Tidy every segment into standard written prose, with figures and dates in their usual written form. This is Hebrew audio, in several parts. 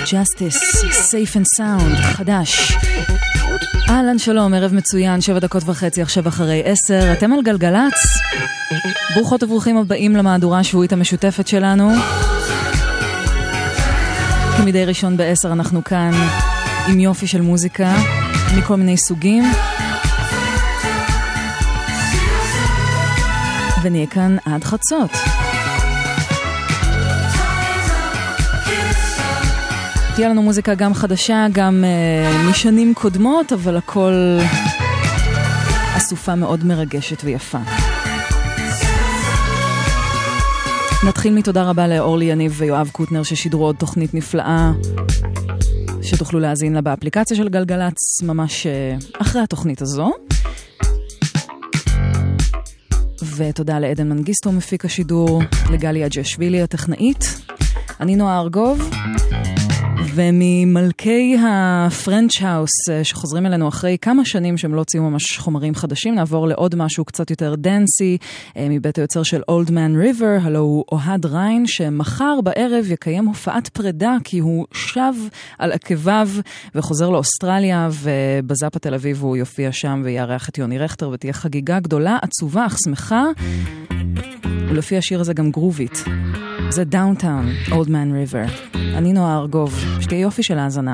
Justice, Safe and Sound, חדש. אהלן שלום, ערב מצוין, 7:30, עכשיו אחרי 10. אתם על גלגלץ. ברוכות וברוכים הבאים למהדורה השבועית המשותפת שלנו. כמדי ראשון ב-10 אנחנו כאן עם יופי של מוזיקה מכל מיני סוגים. ונהיה כאן עד חצות. תהיה לנו מוזיקה גם חדשה, גם משנים קודמות, אבל הכל אסופה מאוד מרגשת ויפה. נתחיל מתודה רבה לאורלי יניב ויואב קוטנר ששידרו עוד תוכנית נפלאה שתוכלו להזין לה באפליקציה של גלגלץ ממש אחרי התוכנית הזו. ותודה לעדן מנגיסטו מפיק השידור, לגלי אג'שווילי הטכנאית. אני נועה ארגוב, וממלכי הפרנץ' האוס שחוזרים אלינו אחרי כמה שנים שהם לא הוציאו ממש חומרים חדשים, נעבור לעוד משהו קצת יותר דנסי, מבית היוצר של Old Man River, הלו הוא אוהד ריין, שמחר בערב יקיים הופעת פרידה, כי הוא שב על עקביו וחוזר לאוסטרליה, ובזאפ התל אביב הוא יופיע שם ויארח את יוני רכטר, ותהיה חגיגה גדולה, עצובה, אך שמחה, ולפי השיר הזה גם גרובית. זה דאונטאון, Old Man River. אני נועה ארגוב, שתהיה יופי של האזנה.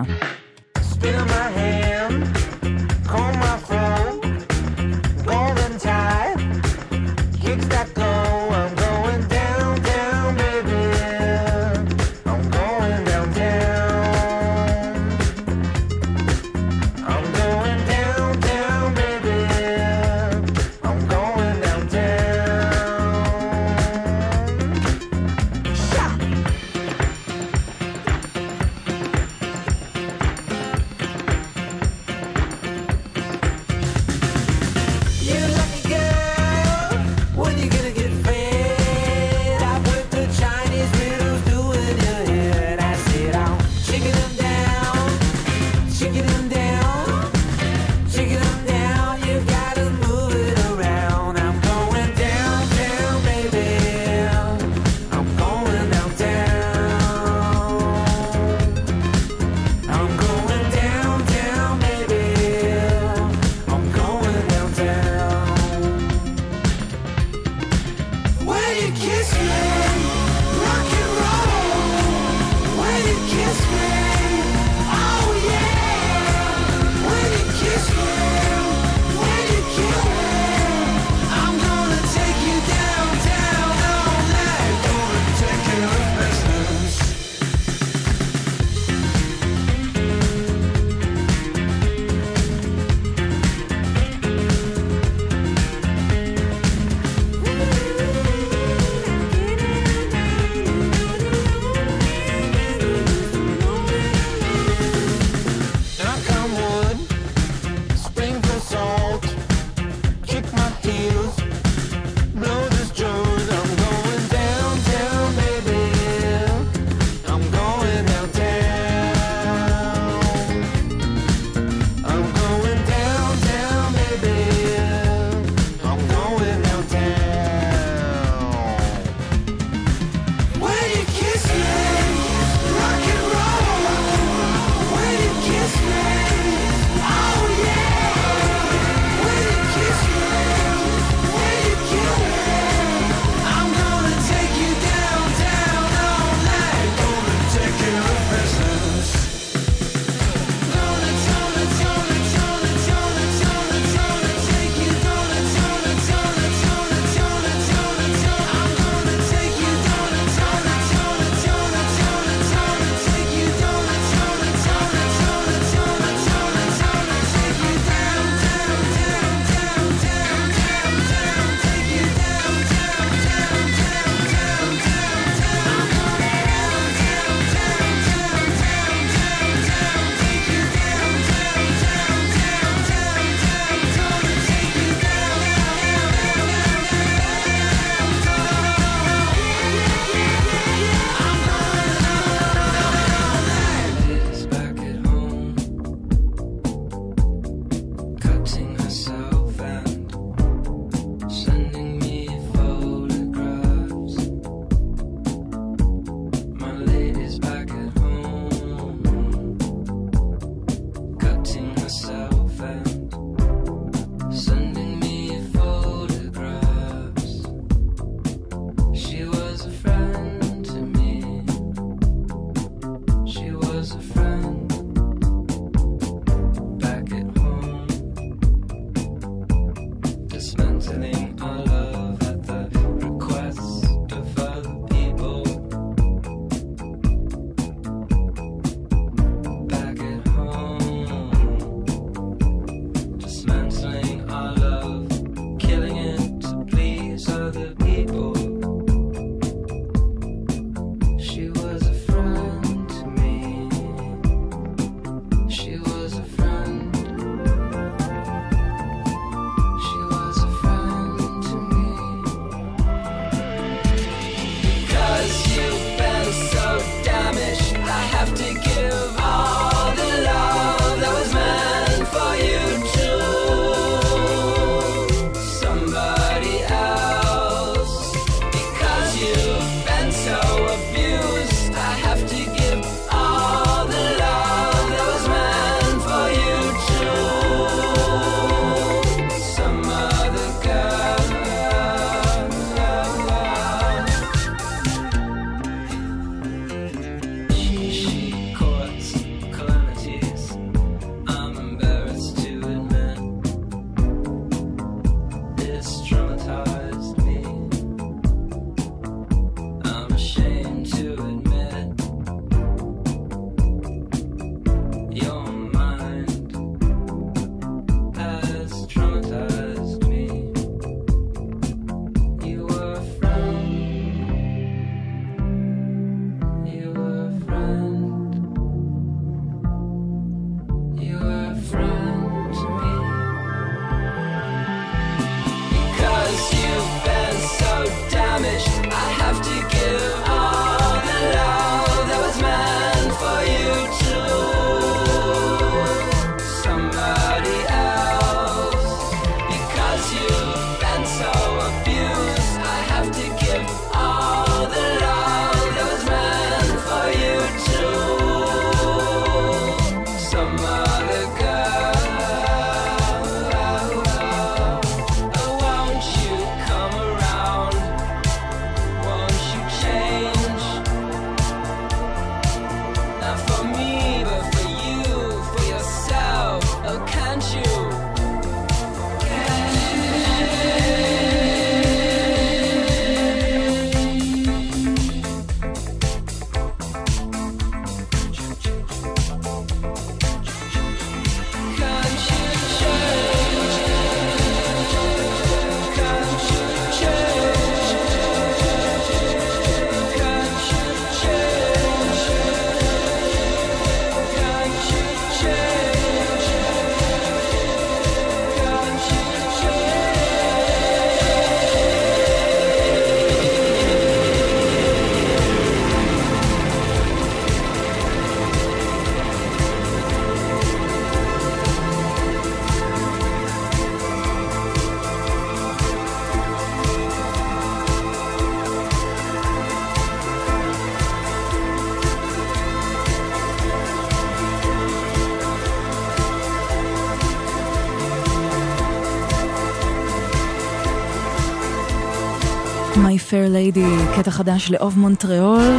My Fair Lady, קטע חדש לאוב מונטריאול.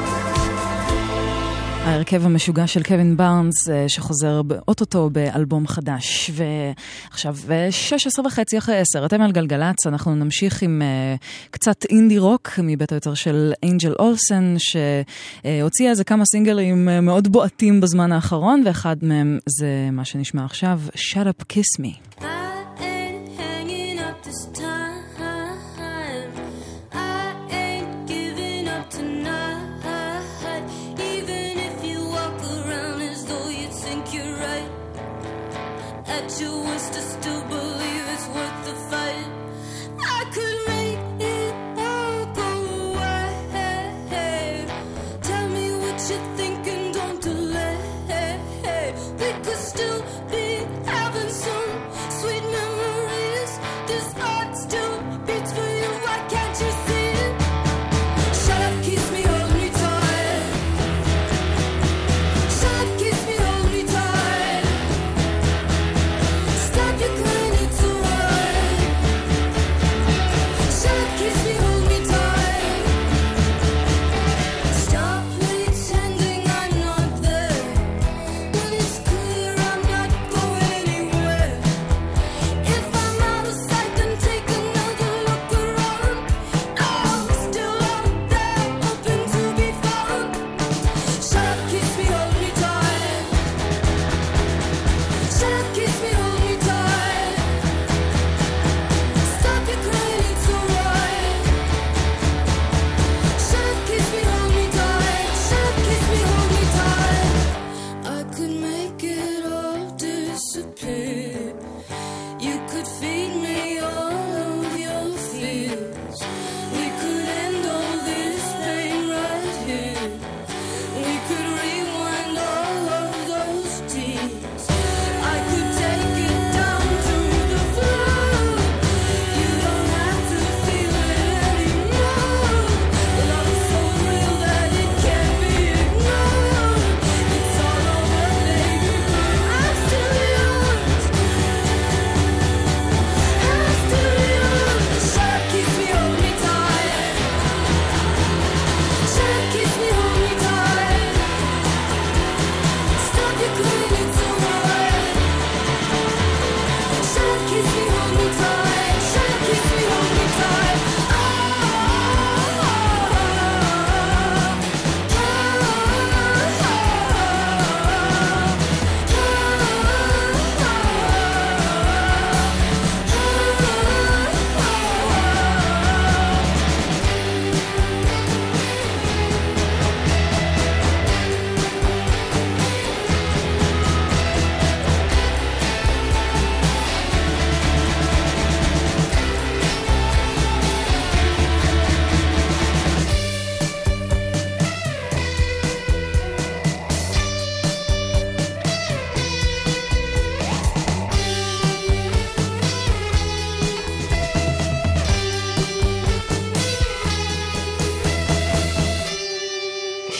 ההרכב המשוגע של קווין בארנס שחוזר באוטוטו באלבום חדש. ועכשיו 16:30 אחרי 10, אתם על גלגלץ, אנחנו נמשיך עם קצת אינדי רוק מבית היוצר של אנג'ל אולסן, שהוציאה איזה כמה סינגלים מאוד בועטים בזמן האחרון, ואחד מהם זה מה שנשמע עכשיו, Shut Up Kiss Me. Still be having some sweet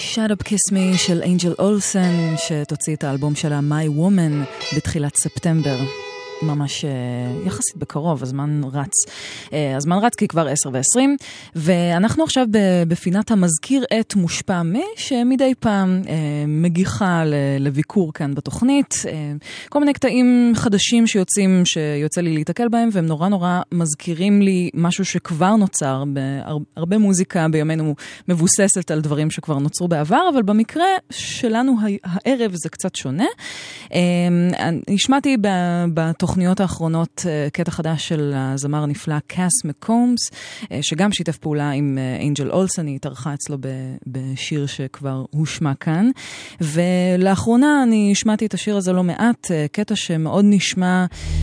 Shut Up Kiss Me של אנג'ל אולסן, שתוציא את האלבום שלה My Woman בתחילת ספטמבר. ממש יחסית בקרוב, הזמן רץ. הזמן רץ כי כבר 10:20, ואנחנו עכשיו בפינת המזכיר את מושפע שמדי פעם מגיחה לביקור כאן בתוכנית. כל מיני קטעים חדשים שיוצא לי להתקל בהם, והם נורא נורא מזכירים לי משהו שכבר נוצר. הרבה מוזיקה בימינו מבוססת על דברים שכבר נוצרו בעבר, אבל במקרה שלנו הערב זה קצת שונה. השמעתי בתוכניות האחרונות קטע חדש של הזמר הנפלא קאס מקומס, שגם שיתף פעולה עם אנג'ל אולסן, היא התארחה אצלו בשיר שכבר הושמע כאן. ולאחרונה אני השמעתי את השיר הזה לא מעט, קטע שמאוד נשמע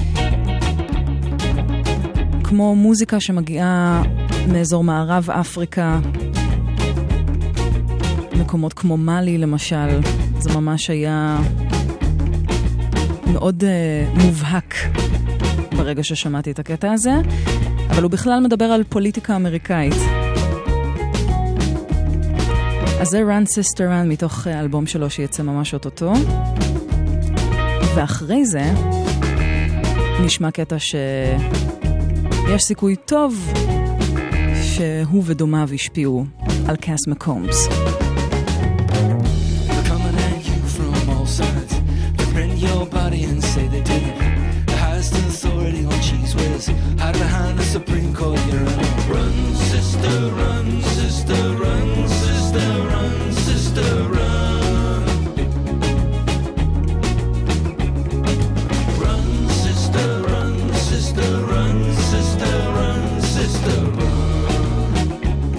כמו מוזיקה שמגיעה מאזור מערב אפריקה, מקומות כמו מאלי למשל. זה ממש היה מאוד מובהק ברגע ששמעתי את הקטע הזה, אבל הוא בכלל מדבר על פוליטיקה אמריקאית. אז זה Run Sister Run מתוך אלבום שלו שיצא ממש אוטוטו, ואחרי זה נשמע קטע שיש סיכוי טוב שהוא ודומיו השפיעו על קאס מקומס. Your body and say they didn't. The highest authority on cheese whiz. Hide behind the Supreme Court. You're on. Run, sister, run, sister, run, sister, run, sister, run. Run, sister, run, sister, run, sister, run, sister, run.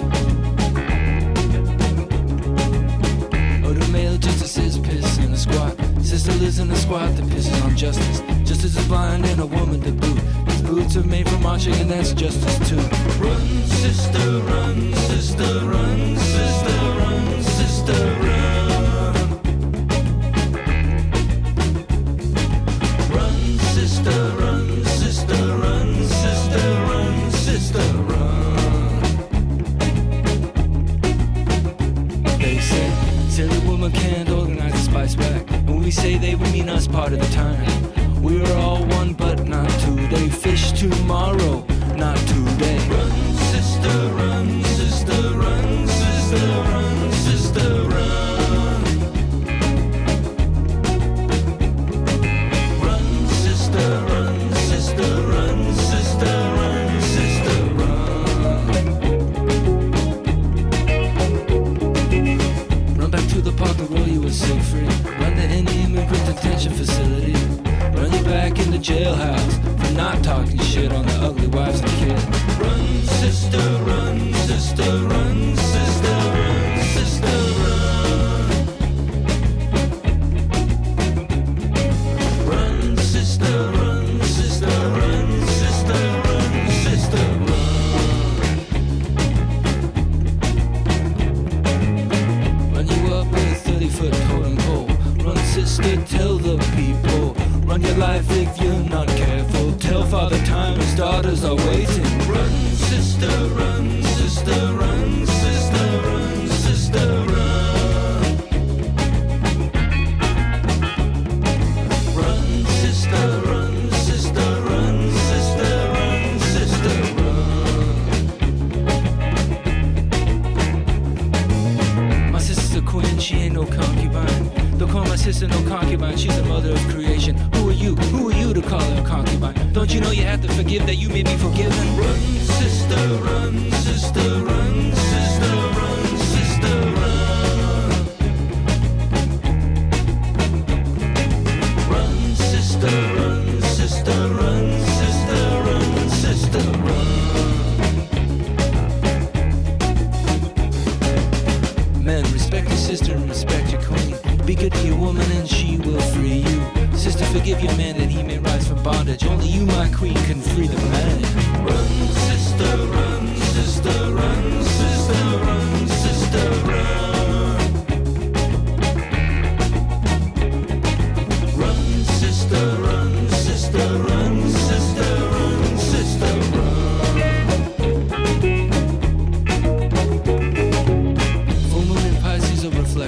Oh, the male justices piss in the squat. Sister lives in a squad that pisses on justice. Justice is blind and a woman to boot. These boots are made for marching and that's justice too. Run, sister, run, sister, run, sister, run, sister, run. Run, sister, run, sister, run, sister, run, sister, run. They say, silly woman can't organize a spice back. We say they, we mean us part of the time. We're all one, but not today. Fish tomorrow, not today. Run, sister, run, sister, run, sister, run, sister, run. Run, sister, run, sister, run, sister, run, sister, run. Run back to the park and roll you a safe free. Immigrant detention facility. Run you back in the jailhouse for not talking shit on the ugly wives and kids. Run, sister, run, sister, run, sister, run, sister, run. Run, sister, run, sister, run, sister, run, sister, run. Run you up with a 30-foot totem pole. Sister, tell the people, run your life if you're not careful. Tell Father Time his daughters are waiting. Run, sister, run, sister, run, sister, run, sister, run. Run, sister, run, sister, run, sister, run, sister, run. My sister's a queen, she ain't no concubine. Don't call my sister no concubine, she's the mother of creation. Who are you? Who are you to call her a concubine? Don't you know you have to forgive that you may be forgiven? Run, sister, run, sister, run, sister, run, sister, run. Run, sister, run, sister, run, sister, run, sister, run. Men, respect your sister and respect your queen. Be good to your woman and she will free you. Sister, forgive your man that he may rise from bondage. Only you, my queen, can free the man. Run, sister, run, sister, run, sister, run, sister, run. Run, sister, run, sister, run, sister, run, sister, run. Full moon in Pisces will reflect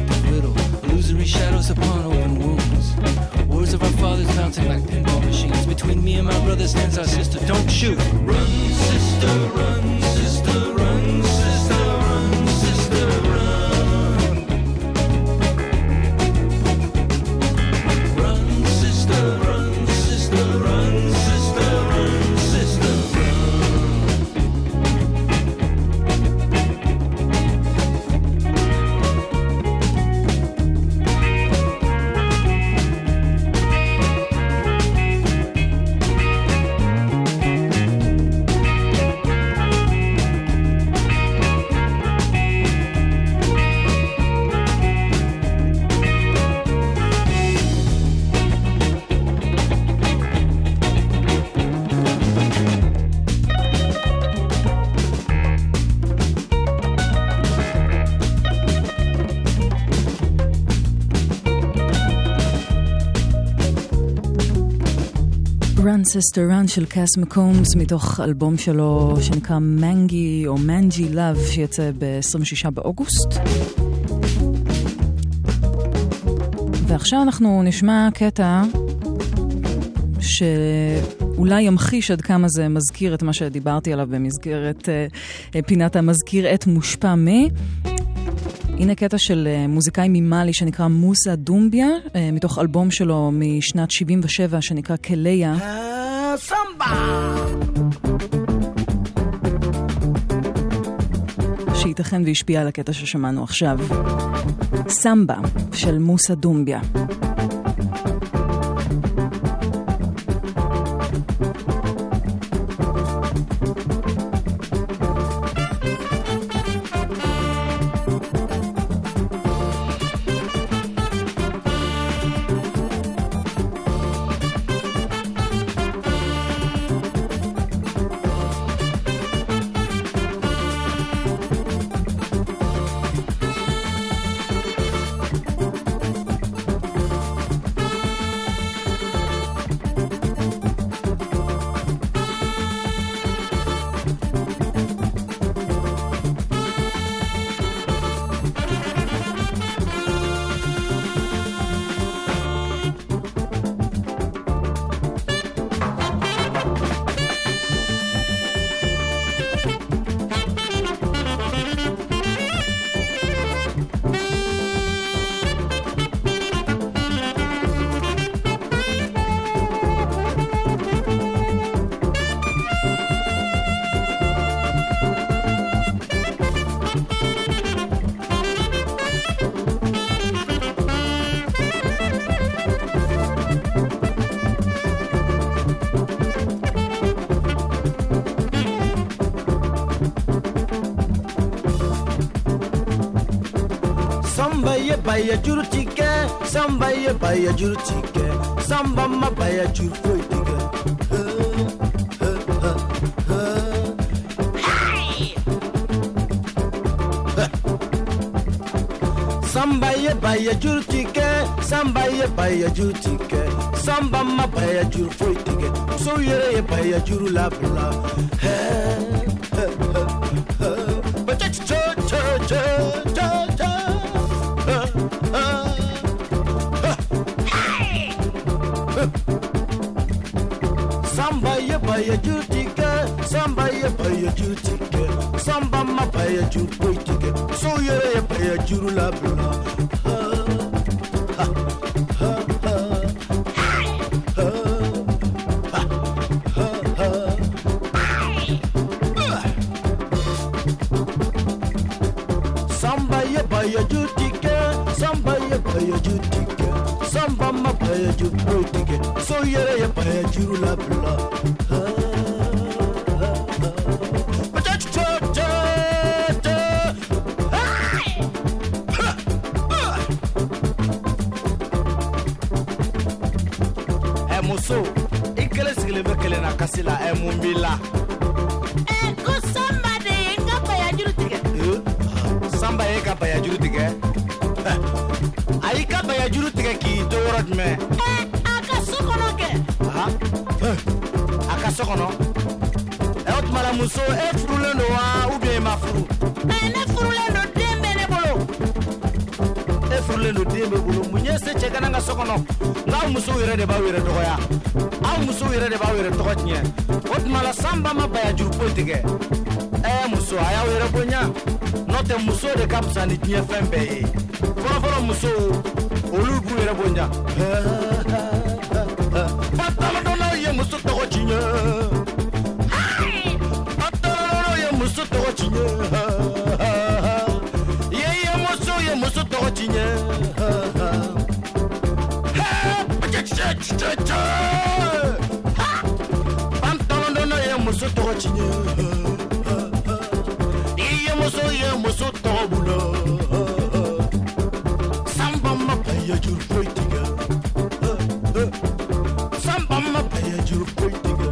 Run Sister Run של קאס מקומס מתוך אלבום שלו שנקרא מנגי או מנג'י לב שיצא ב-26 באוגוסט. ועכשיו אנחנו נשמע קטע שאולי ימחיש עד כמה זה מזכיר את מה שדיברתי עליו במסגרת פינת המזכיר את מושפע מי. הנה קטע של מוזיקאי ממאלי שנקרא מוסה דומביה, מתוך אלבום שלו משנת 77 שנקרא קליה. שייתכן והשפיע על הקטע ששמענו עכשיו. סמבה של מוסה דומביה. Baya juru tika, samba ye baya juru tika, samba ma baya juru foi tika. Samba ye baya juru tika, samba ye baya juru tika, samba ma baya juru foi tika. So ye baya juru la bla. But cha cha cha cha cha. Samba ye baya jutika, samba ye baya jutika, samba ma baya jutika, so ye baya jurula bla. Samba ye baya jutika, samba ye baya jutika, samba ma baya jutika, so ye baya jurula bla. So, ikele sigile bekele na kasila emumbila. Ko samba de ngapa ya juru tige. Samba ye kapa ya juru tige. Ayi kapa ya juru tige ki to worot me. Aka sokono ke. Aha. Aka sokono. Ot mala muso e frule no wa ou bien ma fru. Ne frule no dembe ne bolo. E frule no dembe bolo munye se cheka nga sokono. Nga muso yere de ba yere to ya. Aw muso yere de ba yere to nye. Ot mala samba ma ba ya juru politique. Muso aya yere bonya. Note muso de kapsa ni nye fembe. Foro muso olubu yere bonya. Patalo dono ye muso to chinye. Patalo ye muso to chinye. Ye muso to chinye. Pantalon dono ye muso to chinye. Ye muso to bulo. Samba ma paya juru poitiga. Samba ma paya juru poitiga.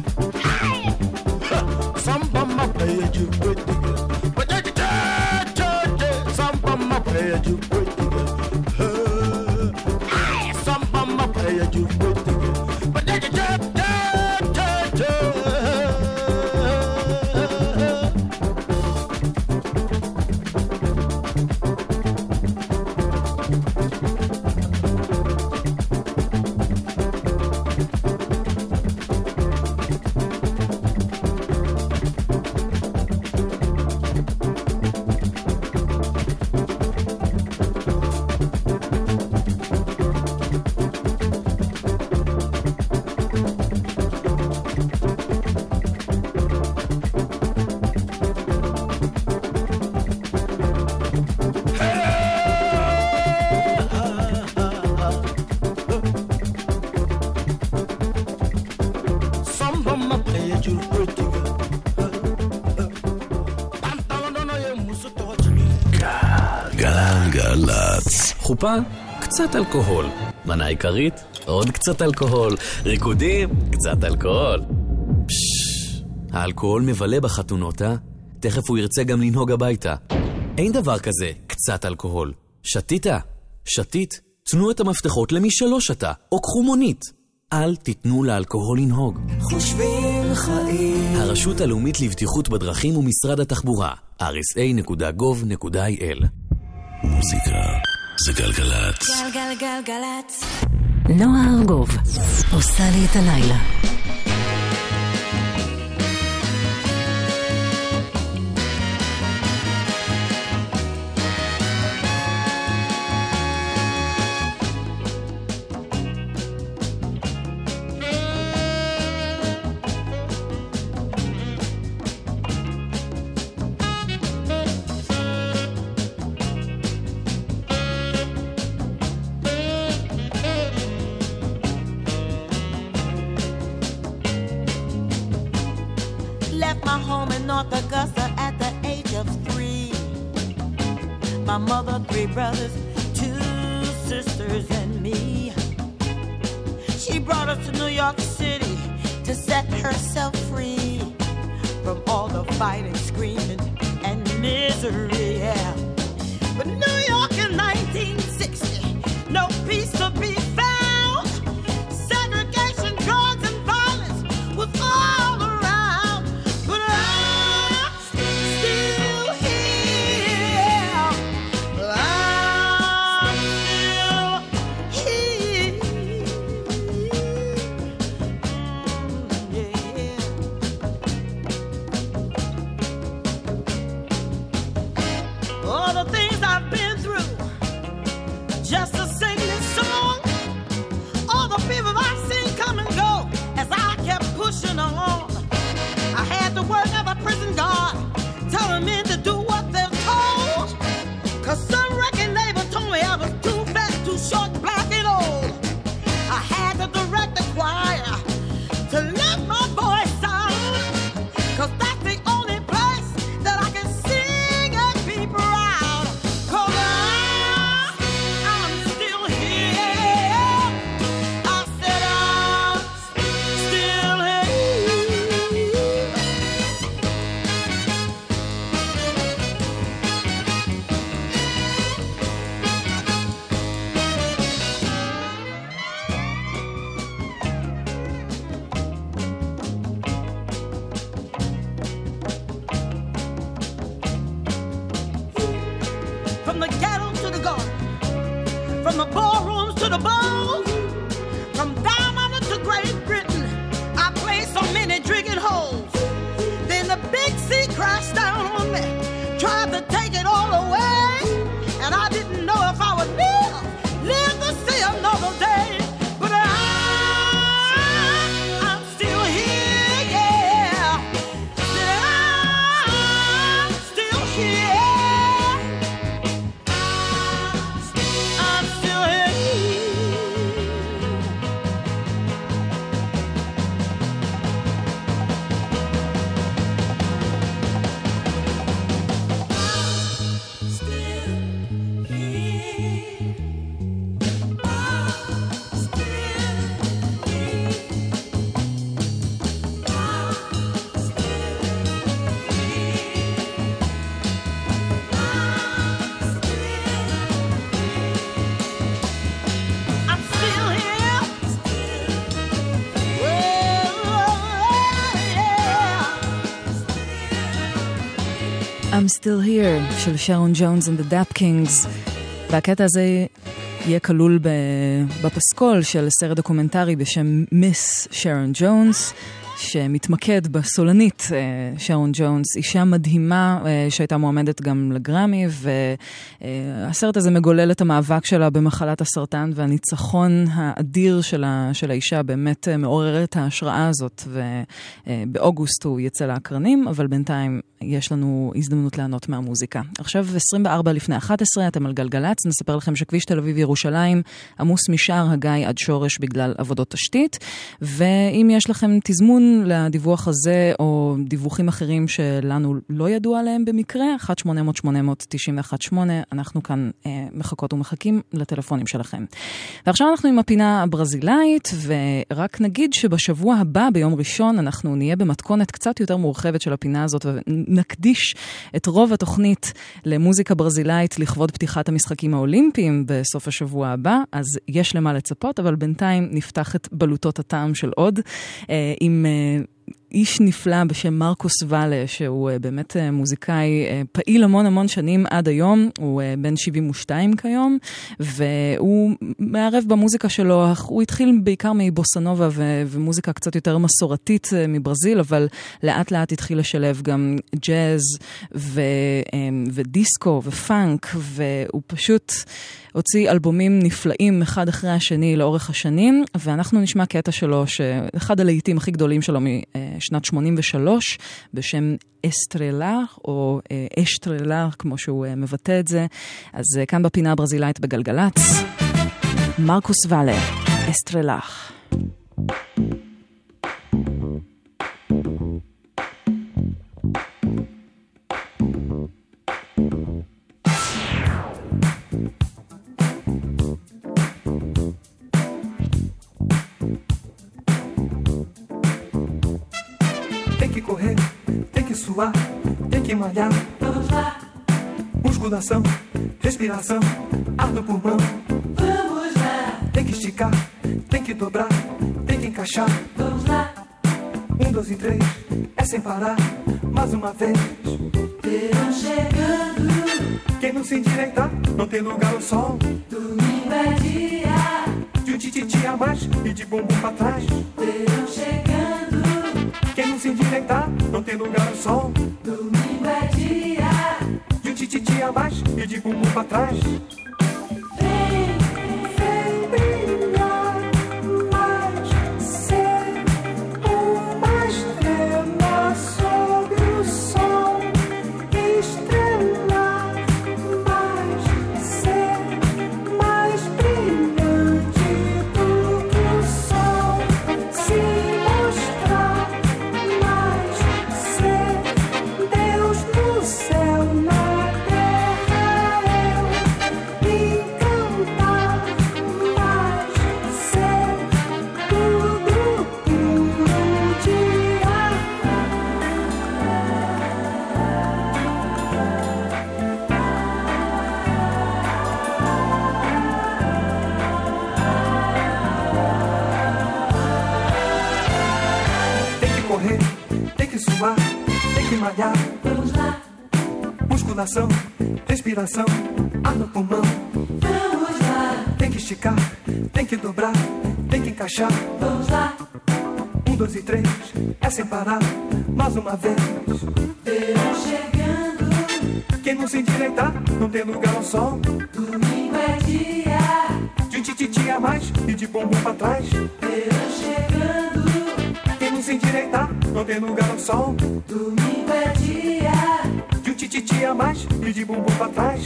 Samba ma paya juru poitiga. Samba ma paya juru poitiga. Samba ma paya juru poitiga. גלגלצ. חופה, קצת אלכוהול. מנה עיקרית, עוד קצת אלכוהול. ריקודים, קצת אלכוהול. האלכוהול מבלה בחתונות, תכף הוא ירצה גם לנהוג הביתה. אין דבר כזה, קצת אלכוהול. שתיתה, שתית, תנו את המפתחות למי שלא שתה, או קחו מונית. אל תיתנו לאלכוהול לנהוג. חושבים חיים. הרשות הלאומית לבטיחות בדרכים ומשרד התחבורה, rsa.gov.il. מוזיקה זה גלגלצ. גלגלגלגלצ. נועה ארגוב עושה לי את הלילה. My mother, 3 brothers, 2 sisters, and me. She brought us to New York City to set herself free from all the fighting, screaming, and misery, yeah. But New York in 1960, no peace to be found. Segregation, drugs, and violence was all around. But I'm still here. I'm Still Here של שרון ג'ונס and the Dap Kings. והקטע הזה יהיה כלול בפסקול של סרט דוקומנטרי בשם מיס שרון ג'ונס, שמתמקד בסולנית שרון ג'ונס, אישה מדהימה שהייתה מועמדת גם לגרמי, והסרט הזה מגולל את המאבק שלה במחלת הסרטן, והניצחון האדיר של האישה באמת מעורר את ההשראה הזאת, ובאוגוסט הוא יצא לאקרנים, אבל בינתיים יש לנו הזדמנות לענות מהמוזיקה. עכשיו 24 לפני 11, אתם על גלגלץ, נספר לכם שכביש תל אביב ירושלים עמוס משער הגיא עד שורש בגלל עבודות תשתית, ואם יש לכם תזמון פרגון לדיווח הזה, או דיווחים אחרים שלנו לא ידעו עליהם במקרה, 1-800-891-8, אנחנו כאן מחכות ומחכים לטלפונים שלכם. ועכשיו אנחנו עם הפינה הברזילאית, ורק נגיד שבשבוע הבא, ביום ראשון, אנחנו נהיה במתכונת קצת יותר מורחבת של הפינה הזאת, ונקדיש את רוב התוכנית למוזיקה ברזילאית לכבוד פתיחת המשחקים האולימפיים בסוף השבוע הבא, אז יש למה לצפות, אבל בינתיים נפתח את בלוטות הטעם של עוד, עם איש נפלא בשם מרקוס ואלה, שהוא באמת מוזיקאי פעיל המון שנים עד היום, הוא בן 72 כיום, והוא מערב במוזיקה שלו, הוא התחיל בעיקר מבוסנובה ומוזיקה קצת יותר מסורתית מברזיל, אבל לאט לאט התחיל לשלב גם ג'אז ודיסקו ופאנק, והוא פשוט הוציא אלבומים נפלאים אחד אחרי השני לאורך השנים, ואנחנו נשמע קטע שלו, שאחד הלהיטים הכי גדולים שלו משנת 83, בשם אסטרלה, או אשטרלה, כמו שהוא מבטא את זה. אז כאן בפינה הברזילאית בגלגלץ, מרקוס ואלה, אסטרלה. Tem que correr, tem que suar, tem que malhar. Vamos lá. Musculação, respiração, ar no pulmão. Vamos lá. Tem que esticar, tem que dobrar, tem que encaixar. Vamos lá. 1, 2 e 3, é sem parar, mais uma vez. Verão chegando. Quem não se endireitar, não tem lugar ao sol. Domingo é dia de um tititi a mais e de bumbum pra trás. Verão chegando. Quem não se endireitar, não tem lugar ao sol. Domingo é dia de um tititi a mais e de bumbum pra trás. Vem brilhar mais, ser uma estrela sob o sol. Estrelar mais, ser mais brilhante do que o sol. Se mostrar mais, ser Deus no céu, na terra eu. E cantar mais, ser tudo puro de Tem que correr, tem que suar, tem que malhar. Vamos lá. Musculação, respiração, ar no pulmão. Vamos lá. Tem que esticar, tem que dobrar, tem que encaixar. Vamos lá. 1, 2 e 3, é sem parar, mais uma vez. Verão chegando. Quem não se endireitar, não tem lugar ao sol. Domingo é dia de um tititi a mais e de bumbum pra trás. Verão chegando. Quem não se endireitar, não tem lugar ao sol. Domingo é dia de um tititi a mais e de bumbum pra trás.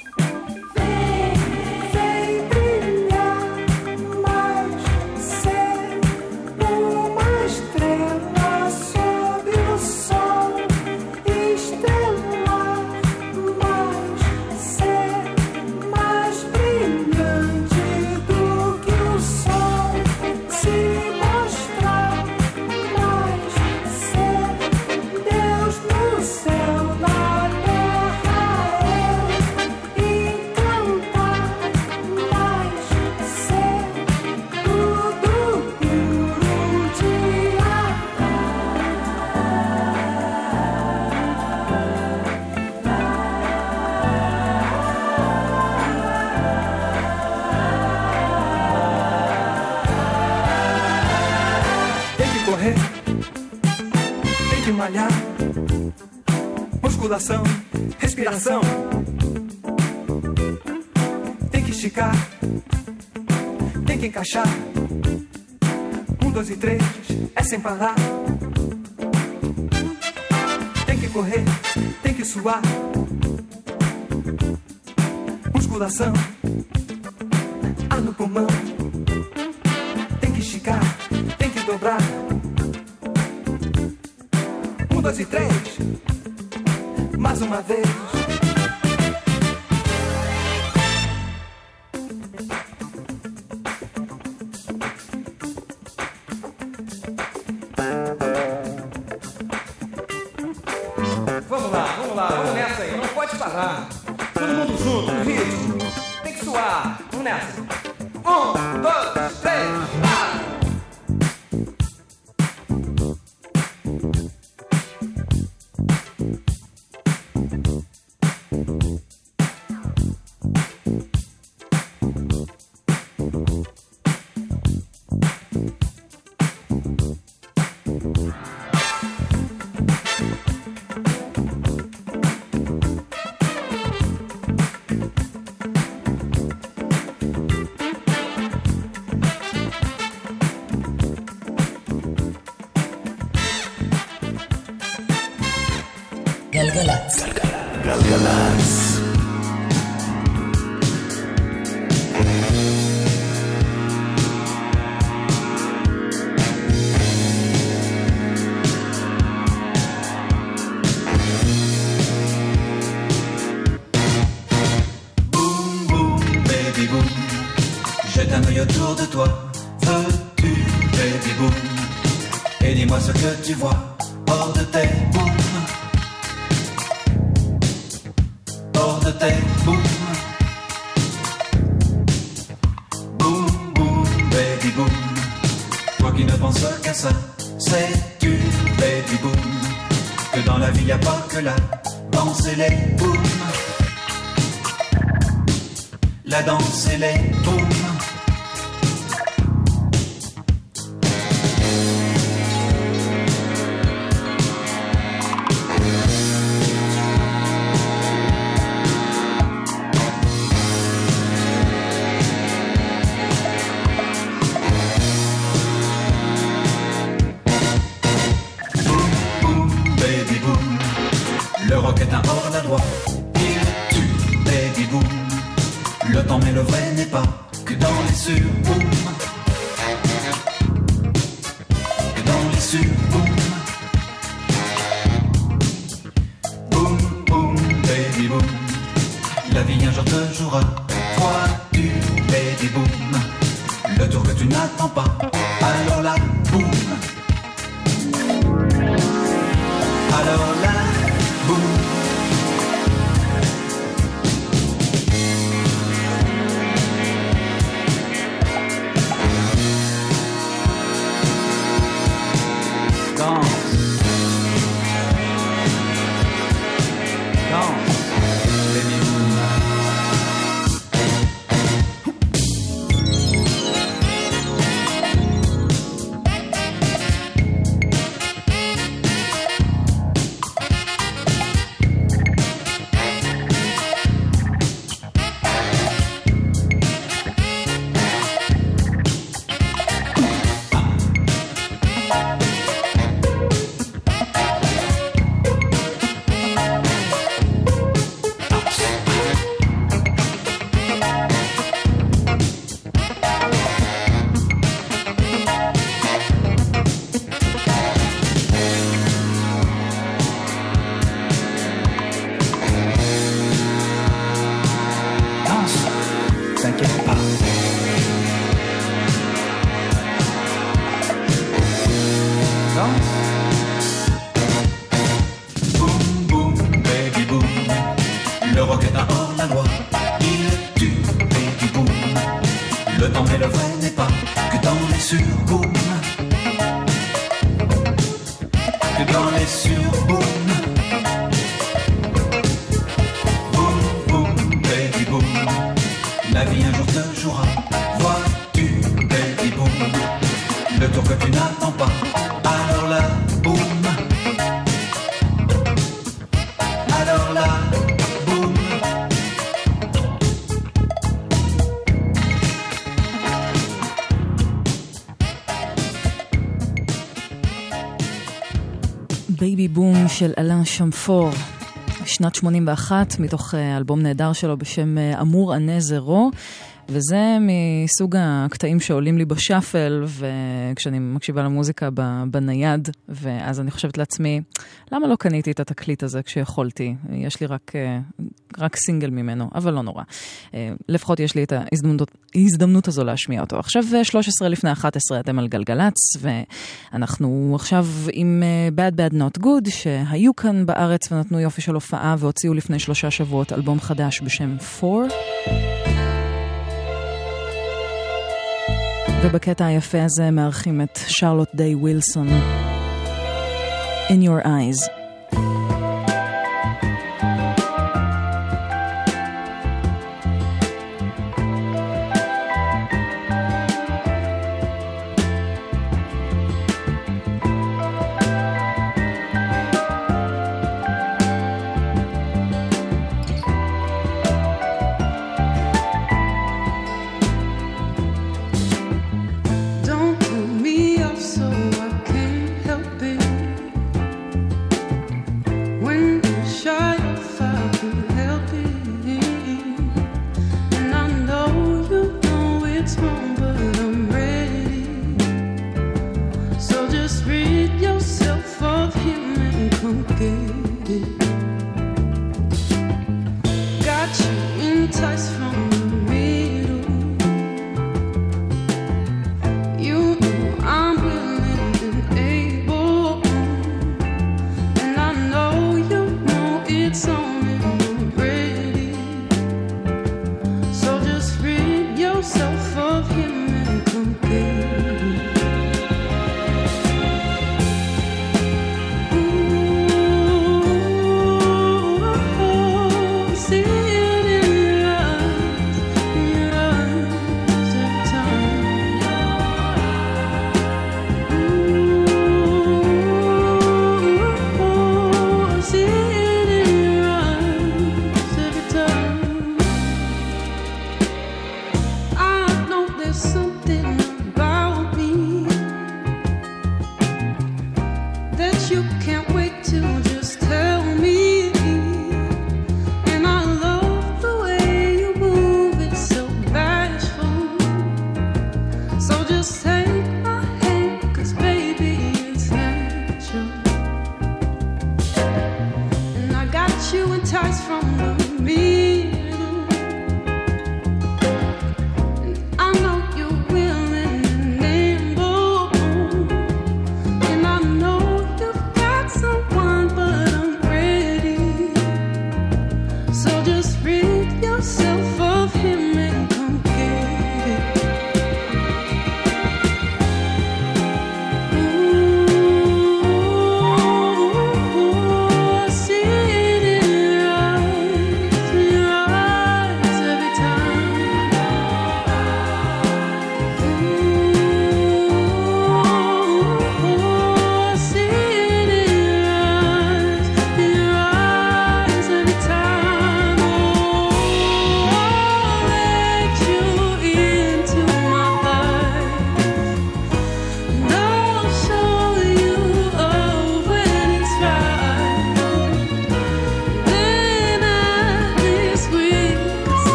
Vem brilhar mais, ser uma estrela sob o sol. Estrelar mais, ser mais brilhante do que o sol. Se mostrar mais, ser Deus no céu, na terra eu. E cantar mais, ser tudo puro de Tem que correr, tem que malhar. Musculação, respiração. Tem que esticar, tem que encaixar. 1, 2 e 3, é sem parar. Tem que correr, tem que suar. Musculação, ar no pulmão. Tem que esticar, tem que dobrar, 2 e 3. Mais uma vez. Vamos lá, vamos nessa aí, não pode parar. Todo mundo junto, no ritmo. Tem que suar, vamos nessa. 1, 2, 3, vai! גלגלצ. גלגלצ. Jette un œil autour de toi, veux-tu, baby boom? Et dis-moi ce que tu vois hors de tes booms, hors de tes booms. Boom, boom, baby boom. Toi qui ne penses qu'à ça, sais-tu, baby boom, que dans la vie y a pas que la danse et les booms. La danse et les booms. Le rock est un hors-la-loi, il tue, baby boom. Le temps mais le vrai n'est pas que dans les sur-booms, que dans les sur-booms. Boom, boom, baby boom. La vie un jour te jouera, vois-tu, baby boom, le tour que tu n'attends pas, alors là, boom. Alors là, boom. בייבי בום של אלן שמפור, שנת 81, מתוך אלבום נהדר שלו בשם אמור ענה זרו. וזה מסוג הקטעים שעולים לי בשאפל, וכשאני מקשיבה למוזיקה בנייד, ואז אני חושבת לעצמי, למה לא קניתי את התקליט הזה כשיכולתי? יש לי רק סינגל ממנו, אבל לא נורא. לפחות יש לי את ההזדמנות הזו להשמיע אותו. עכשיו 13 לפני 11 אתם על גלגלץ, ואנחנו עכשיו עם Bad Bad Not Good, שהיו כאן בארץ ונתנו יופי של הופעה, והוציאו לפני 3 שבועות אלבום חדש בשם 4. ובקטע היפה הזה מארחים את שרלוט דיי ווילסון, In Your Eyes.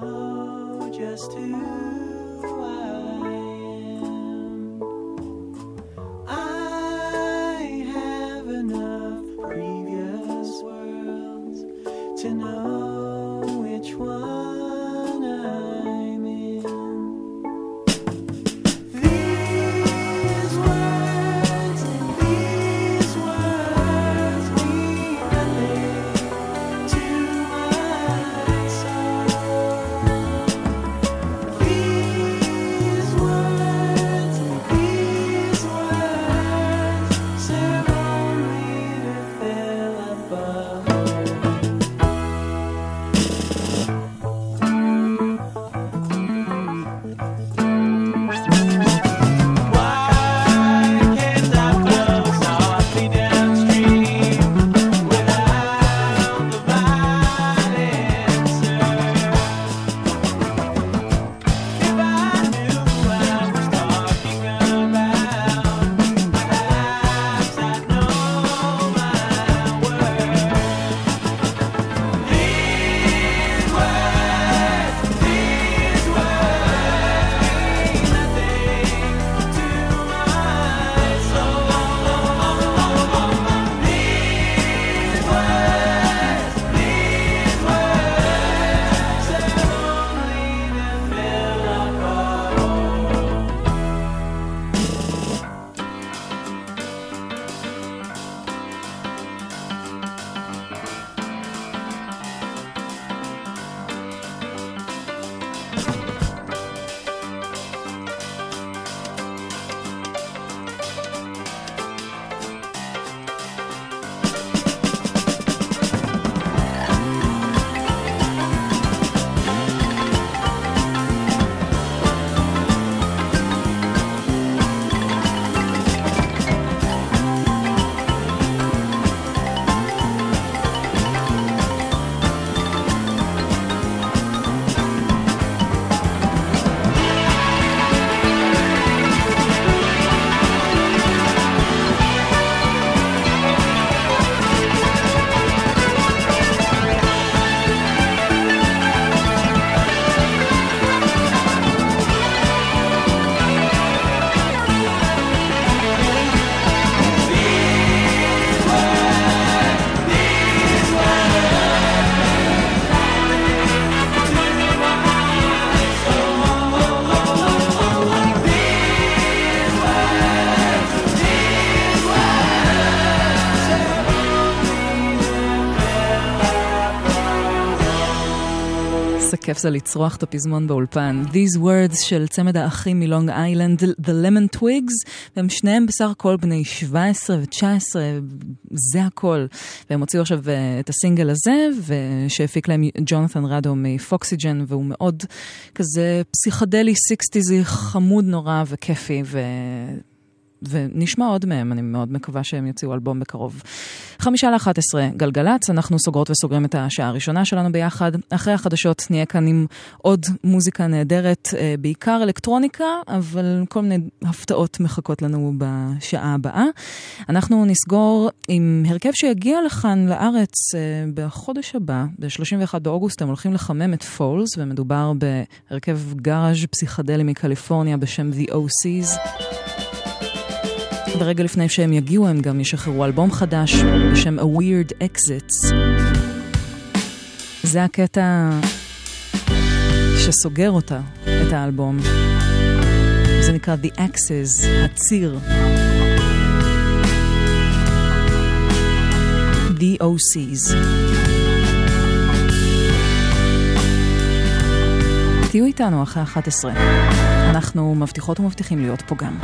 just who I am. כיף זה לצרוח את הפזמון באולפן. These words של צמד האחים מלונג איילנד, The Lemon Twigs, והם שניהם בסך הכל בני 17 ו-19, זה הכל. והם הוציאו עכשיו את הסינגל הזה, ושהפיק להם ג'ונתן רדו מפוקסיג'ן, והוא מאוד כזה פסיכדלי 60s, חמוד נורא וכיפי, ונשמע עוד מהם, אני מאוד מקווה שהם יוציאו אלבום בקרוב. 10:55, גלגלץ, אנחנו סוגרות וסוגרים את השעה הראשונה שלנו ביחד. אחרי החדשות נהיה כאן עם עוד מוזיקה נהדרת, בעיקר אלקטרוניקה, אבל כל מיני הפתעות מחכות לנו בשעה הבאה. אנחנו נסגור עם הרכב שיגיע לכאן לארץ בחודש הבא, ב-31 באוגוסט, הם הולכים לחמם את פולס, ומדובר בהרכב גראז' פסיכדלי מקליפורניה בשם The OCs. ורגע לפני שהם יגיעו הם גם ישחררו אלבום חדש בשם A Weird Exits. זה הקטע שסוגר אותה, את האלבום. זה נקרא The Axis, הציר. The OCs. תהיו איתנו אחרי 11. אנחנו מבטיחות ומבטיחים להיות פה גם.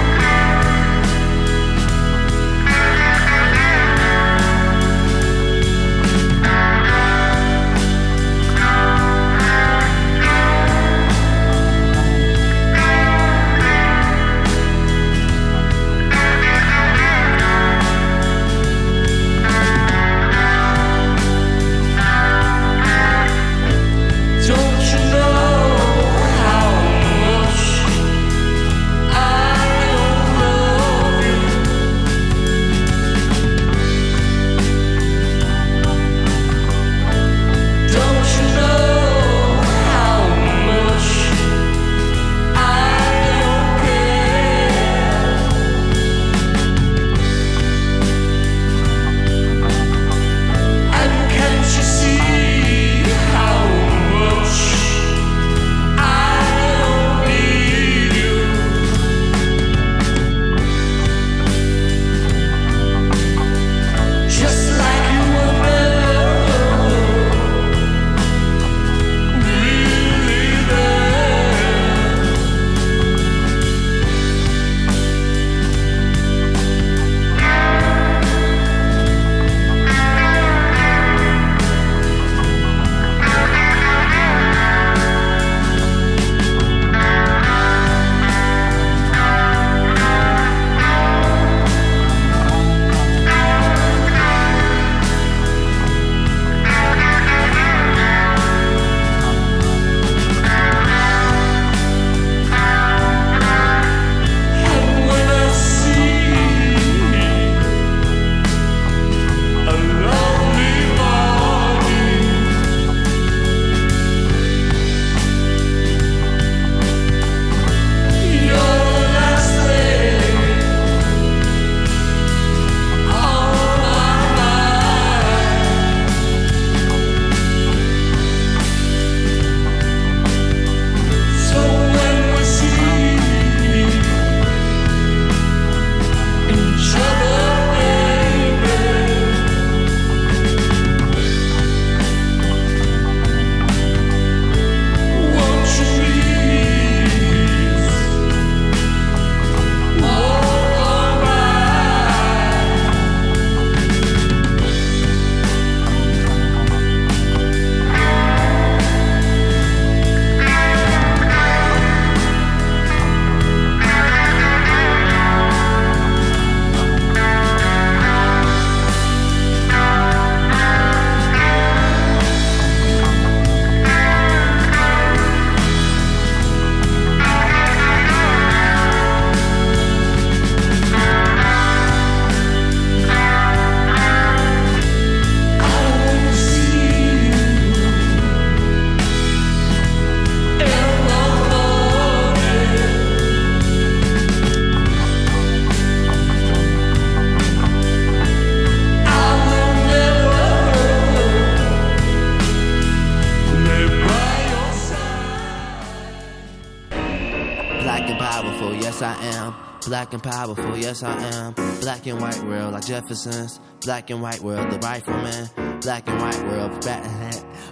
Black and powerful, yes I am. Black and white world like Jefferson's. Black and white world, the rifleman. Black and white world,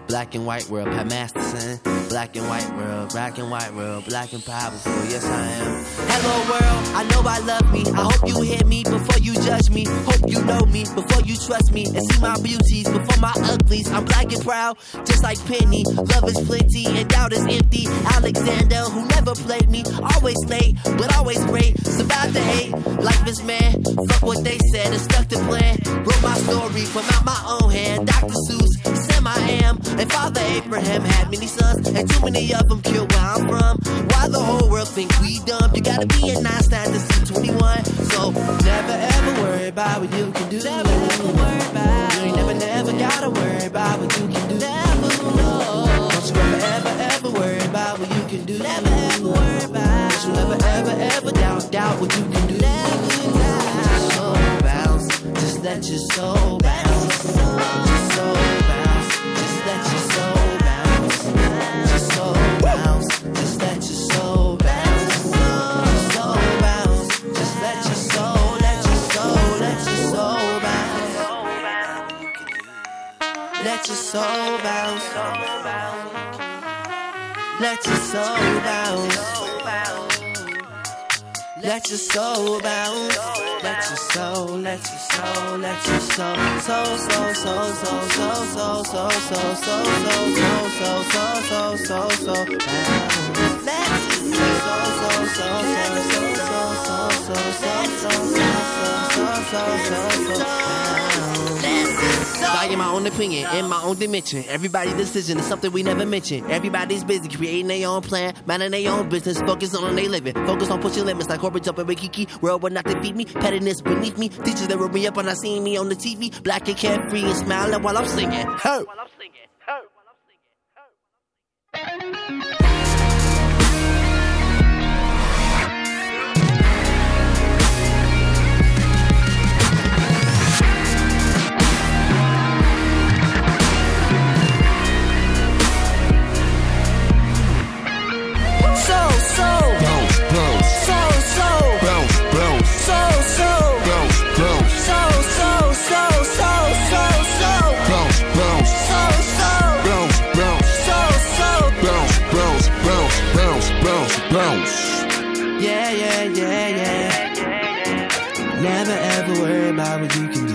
Black and white world, Pat Masterson. Black and white world, black and white world, black and powerful, yes I am. Hello world, I know I love me. I hope you hear me before you judge me. Hope you know me before you trust me. And see my beauties before my uglies. I'm black and proud, just like Penny. Love is plenty and doubt is empty. Alexander, who never played me. Always late, but always great. Survived the hate, life is man. Fuck what they said and stuck to plan. Wrote my story from out my own hand. Dr. Seuss, Sam I am. And Father Abraham had many sons. And too many of them killed where I'm from. Why the whole world think we dumb? You gotta be a 9 to see 21. So never ever worry about what you can do. Never ever worry about. You ain't never gotta worry about what you can do. Never, no. Don't you ever worry about what you can do. Never ever worry about. Don't you ever doubt what you can do. Never just so bounce. Just let your soul bounce. Just so bounce. Just let your soul bounce. Just so bounce. Just let your soul bounce. Just so bounce. Just let your soul, let your soul bounce. Let your soul bounce. Let your soul bounce. Let your soul bounce. Let your soul, let your soul, let your soul, Value my own opinion in my own dimension. Everybody's decision is something we never mention. Everybody's busy creating their own plan, minding their own business, focus on their living, focus on pushing limits like corporate jumping with Kiki. World will not defeat me, pettiness beneath me. Teachers that wrote me up when I seen me on the TV, black and carefree and smiling while I'm singing. Hey. Never ever worry about what you can do.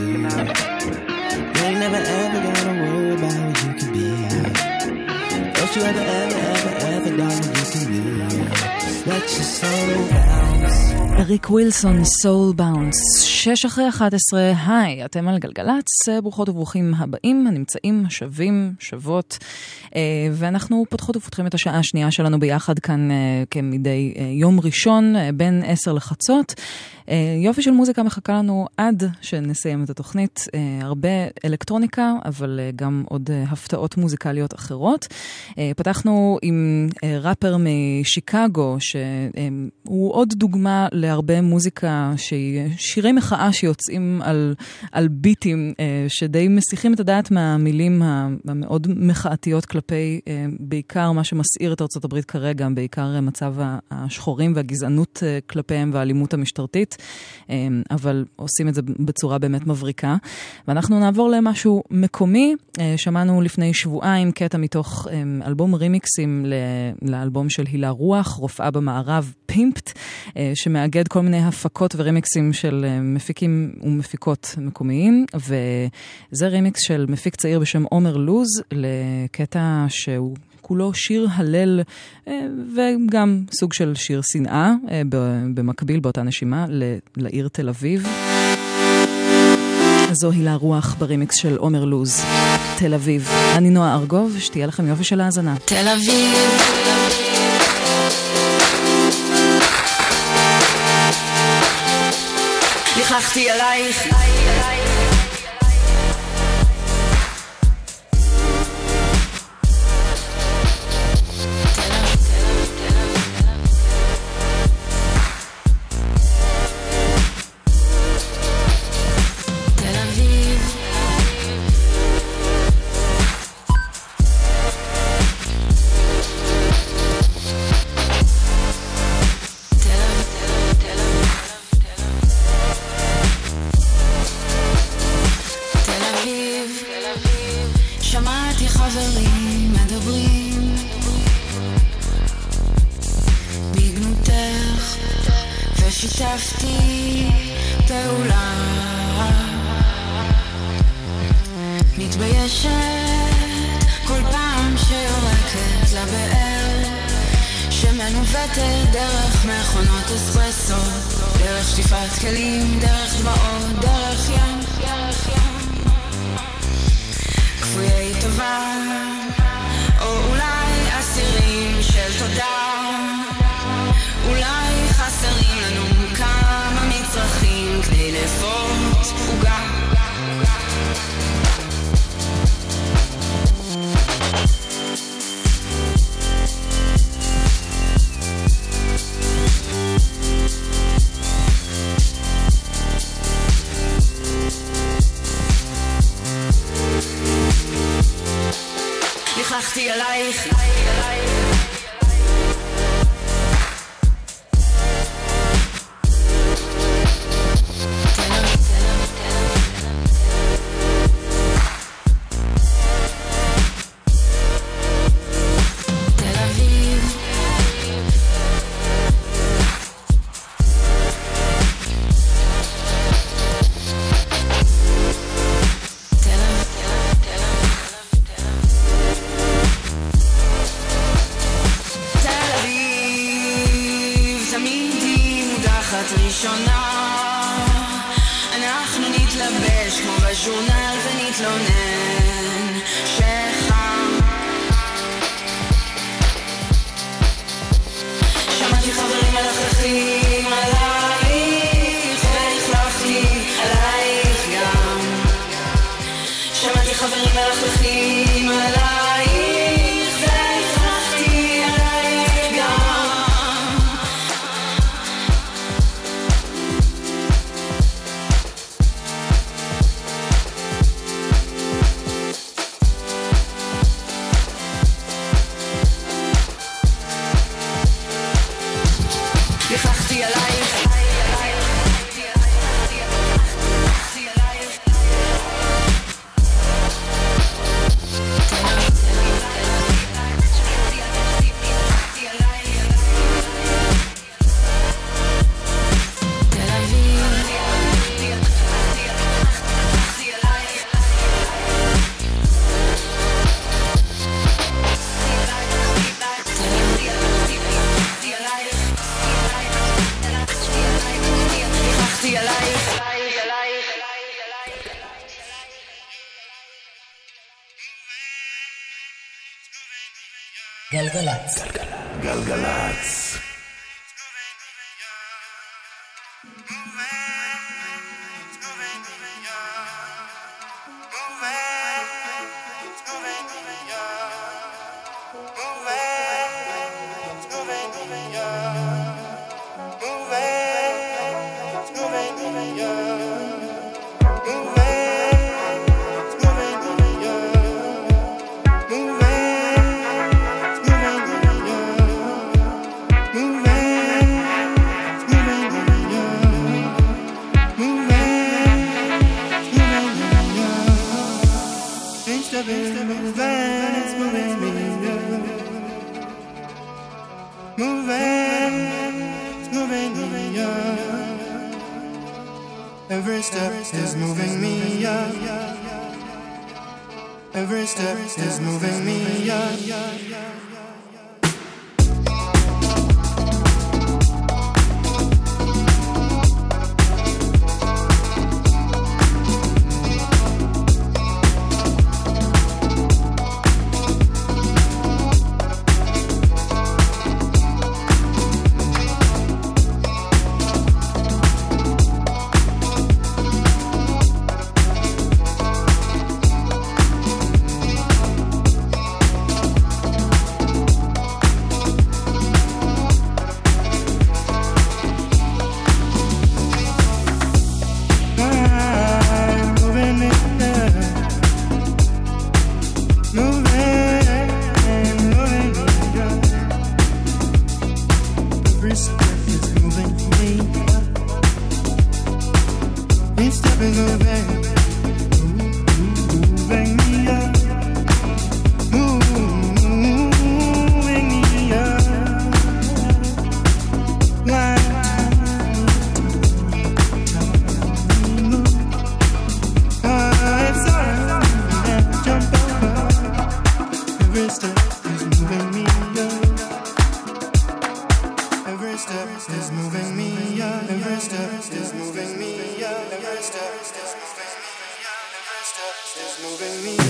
You ain't never ever gotta worry about what you can be. Don't you ever doubt what you can do. Just let your soul bounce. אריק ווילסון, סול באונס, 6:11, היי, אתם על גלגלץ, ברוכות וברוכים הבאים, הנמצאים, שווים, שוות, ואנחנו פותחות ופותחים את השעה השנייה שלנו ביחד כאן כמדי יום ראשון, בין 10 לחצות. יופי של מוזיקה מחכה לנו עד שנסיים את התוכנית, הרבה אלקטרוניקה, אבל גם עוד הפתעות מוזיקליות אחרות. פתחנו עם ראפר משיקגו, שהוא עוד דוגמה להרבה מוזיקה, שירי מחאה שיוצאים על ביטים, שדי מסיחים את הדעת מהמילים המאוד מחאתיות כלפי, בעיקר מה שמסעיר את ארצות הברית כרגע, בעיקר מצב השחורים והגזענות כלפיהם והאלימות המשטרתית. אבל עושים את זה בצורה באמת מבריקה. ואנחנו נעבור למשהו מקומי. שמענו לפני שבועיים קטע מתוך אלבום רימיקסים לאלבום של הילה רוח, רופאה במערב, פימפט, שמאגד כל מיני הפקות ורימיקסים של מפיקים ומפיקות מקומיים, וזה רימיקס של מפיק צעיר בשם עומר לוז, לקטע שהוא כולו שיר הלל וגם סוג של שיר שנאה במקביל באותה נשימה לעיר תל אביב. זו הילה רוח ברימיקס של עומר לוז, תל אביב. אני נועה ארגוב, שתהיה לכם יופי של האזנה. תל אביב לכלכתי עלייך שיתפתי פעולה, מתביישת כל פעם שיורקת לבאר שמנווטת דרך מכונות אספרסו, דרך שטיפת כלים, דרך דמעות, דרך ים כפויי טובה, או אולי אסירים של תודה. אולי חסרים לנו כמה מצרכים כדי לפות עוגה. לכלכתי עלייך גלגלץ. גלגלץ. Every step is moving me up. Every step is moving me up. Every step is moving me. Every step is moving me. Every step is moving me. Every step is moving me.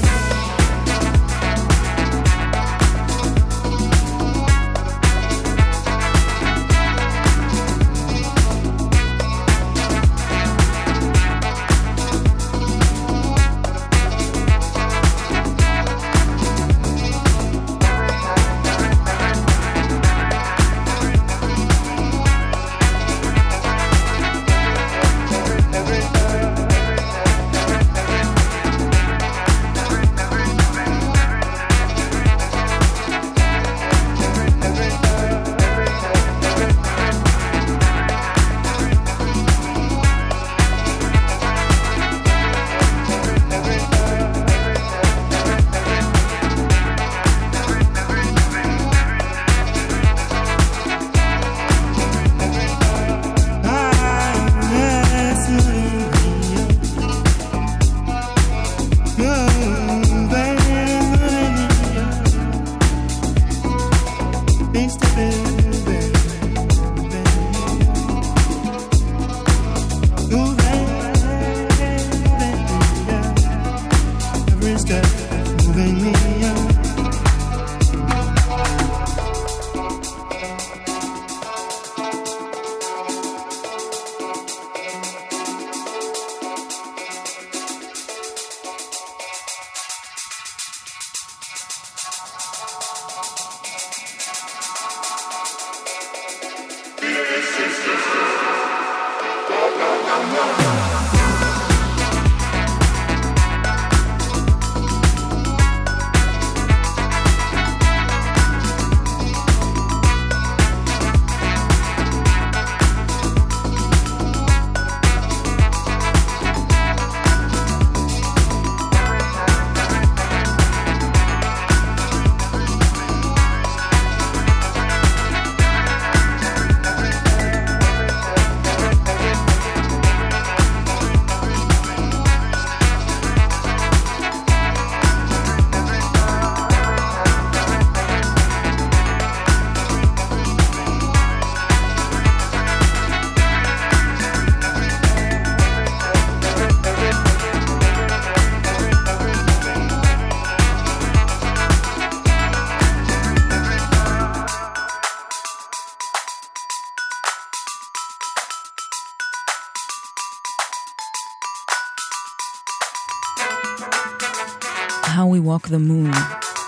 How We Walk the Moon.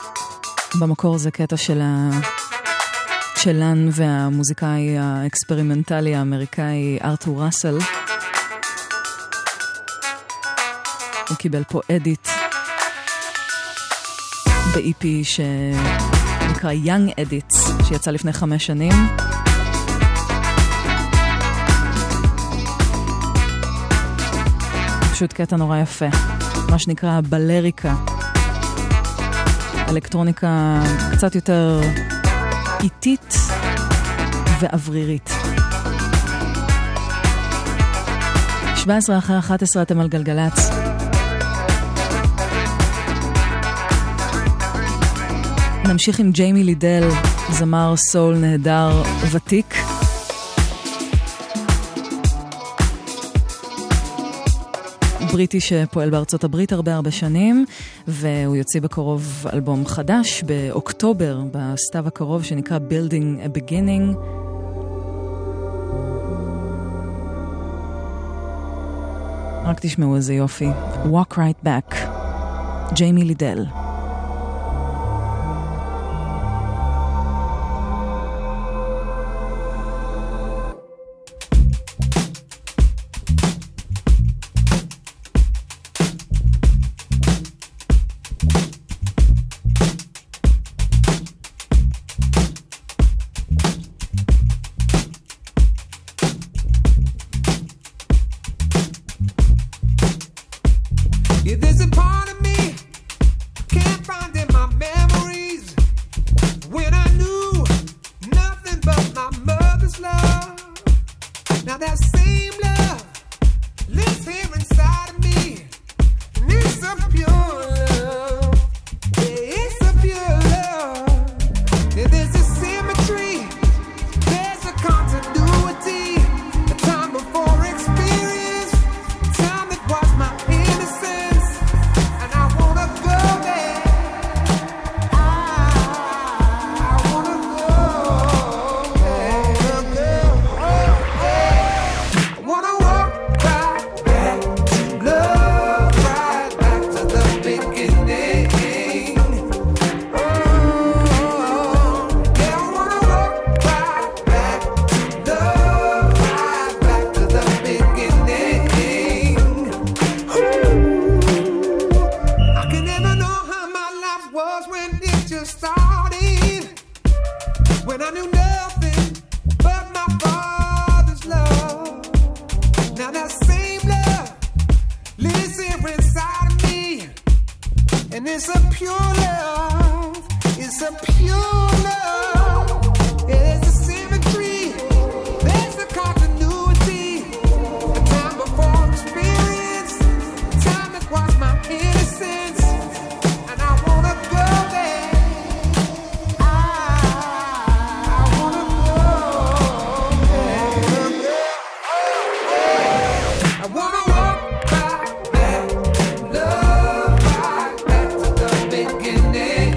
במקור זה קטע שלן והמוזיקאי האקספרימנטלי האמריקאי ארתור ראסל. הוא קיבל פה אדיט ב-EP שנקרא Young Edits, שיצא לפני 5 שנים. פשוט קטע נורא יפה, מה שנקרא בלריקה, אלקטרוניקה קצת יותר איטית ואוורירית. 17 אחרי 11 אתם על גלגלץ. נמשיך עם ג'יימי לידל, זמר סול נהדר ותיק. בריטי שפועל בארצות הברית הרבה שנים, והוא יוציא בקרוב אלבום חדש באוקטובר, בסתיו הקרוב, שנקרא Building a Beginning. רק תשמעו איזה יופי. Walk Right Back, ג'יימי לידל. There's a symmetry, there's a Father's love. Now that same love lives here inside of me, and it's a pure love. It's a pure love. There's a symmetry. There's a continuity. A time before experience. Time that was my innocence. And I wanna go there. I wanna go there. I wanna walk right back. Love right back to the beginning.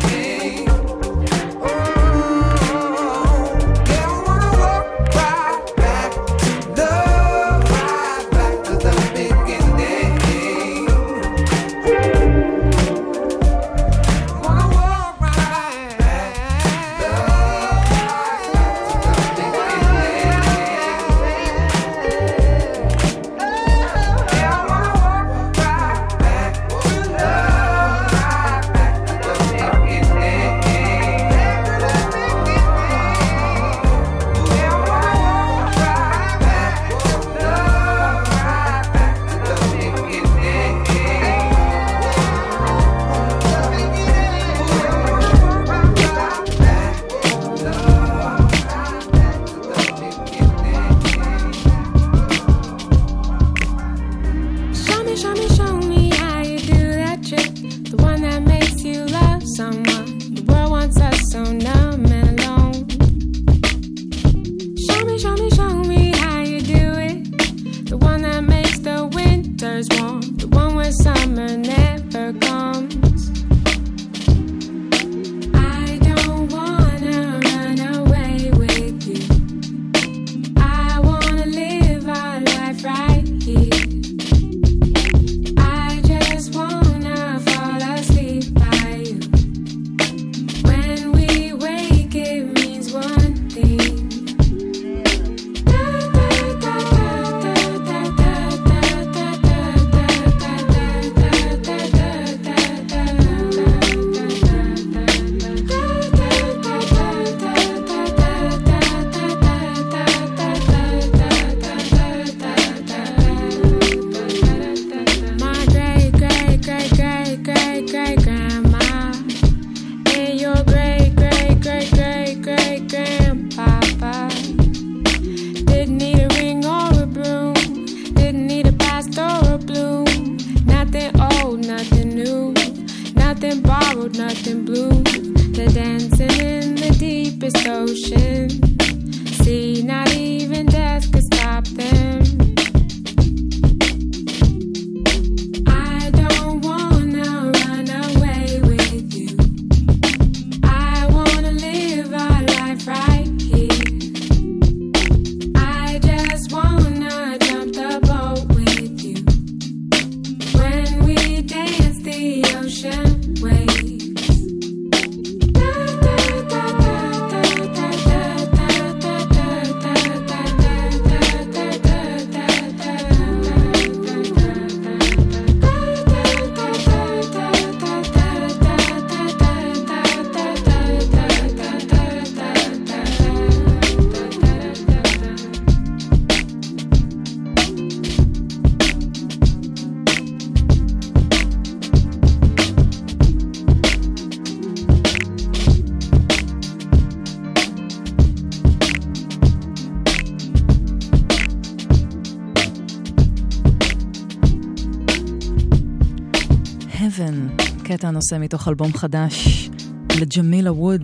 Heaven, קטע נושא מתוך אלבום חדש לג'מילה וודס,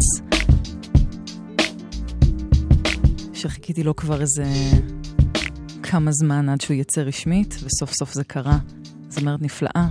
שחיכיתי לו כבר איזה כמה זמן עד שהוא יצא רשמית, וסוף סוף זה קרה. זמרת נפלאה,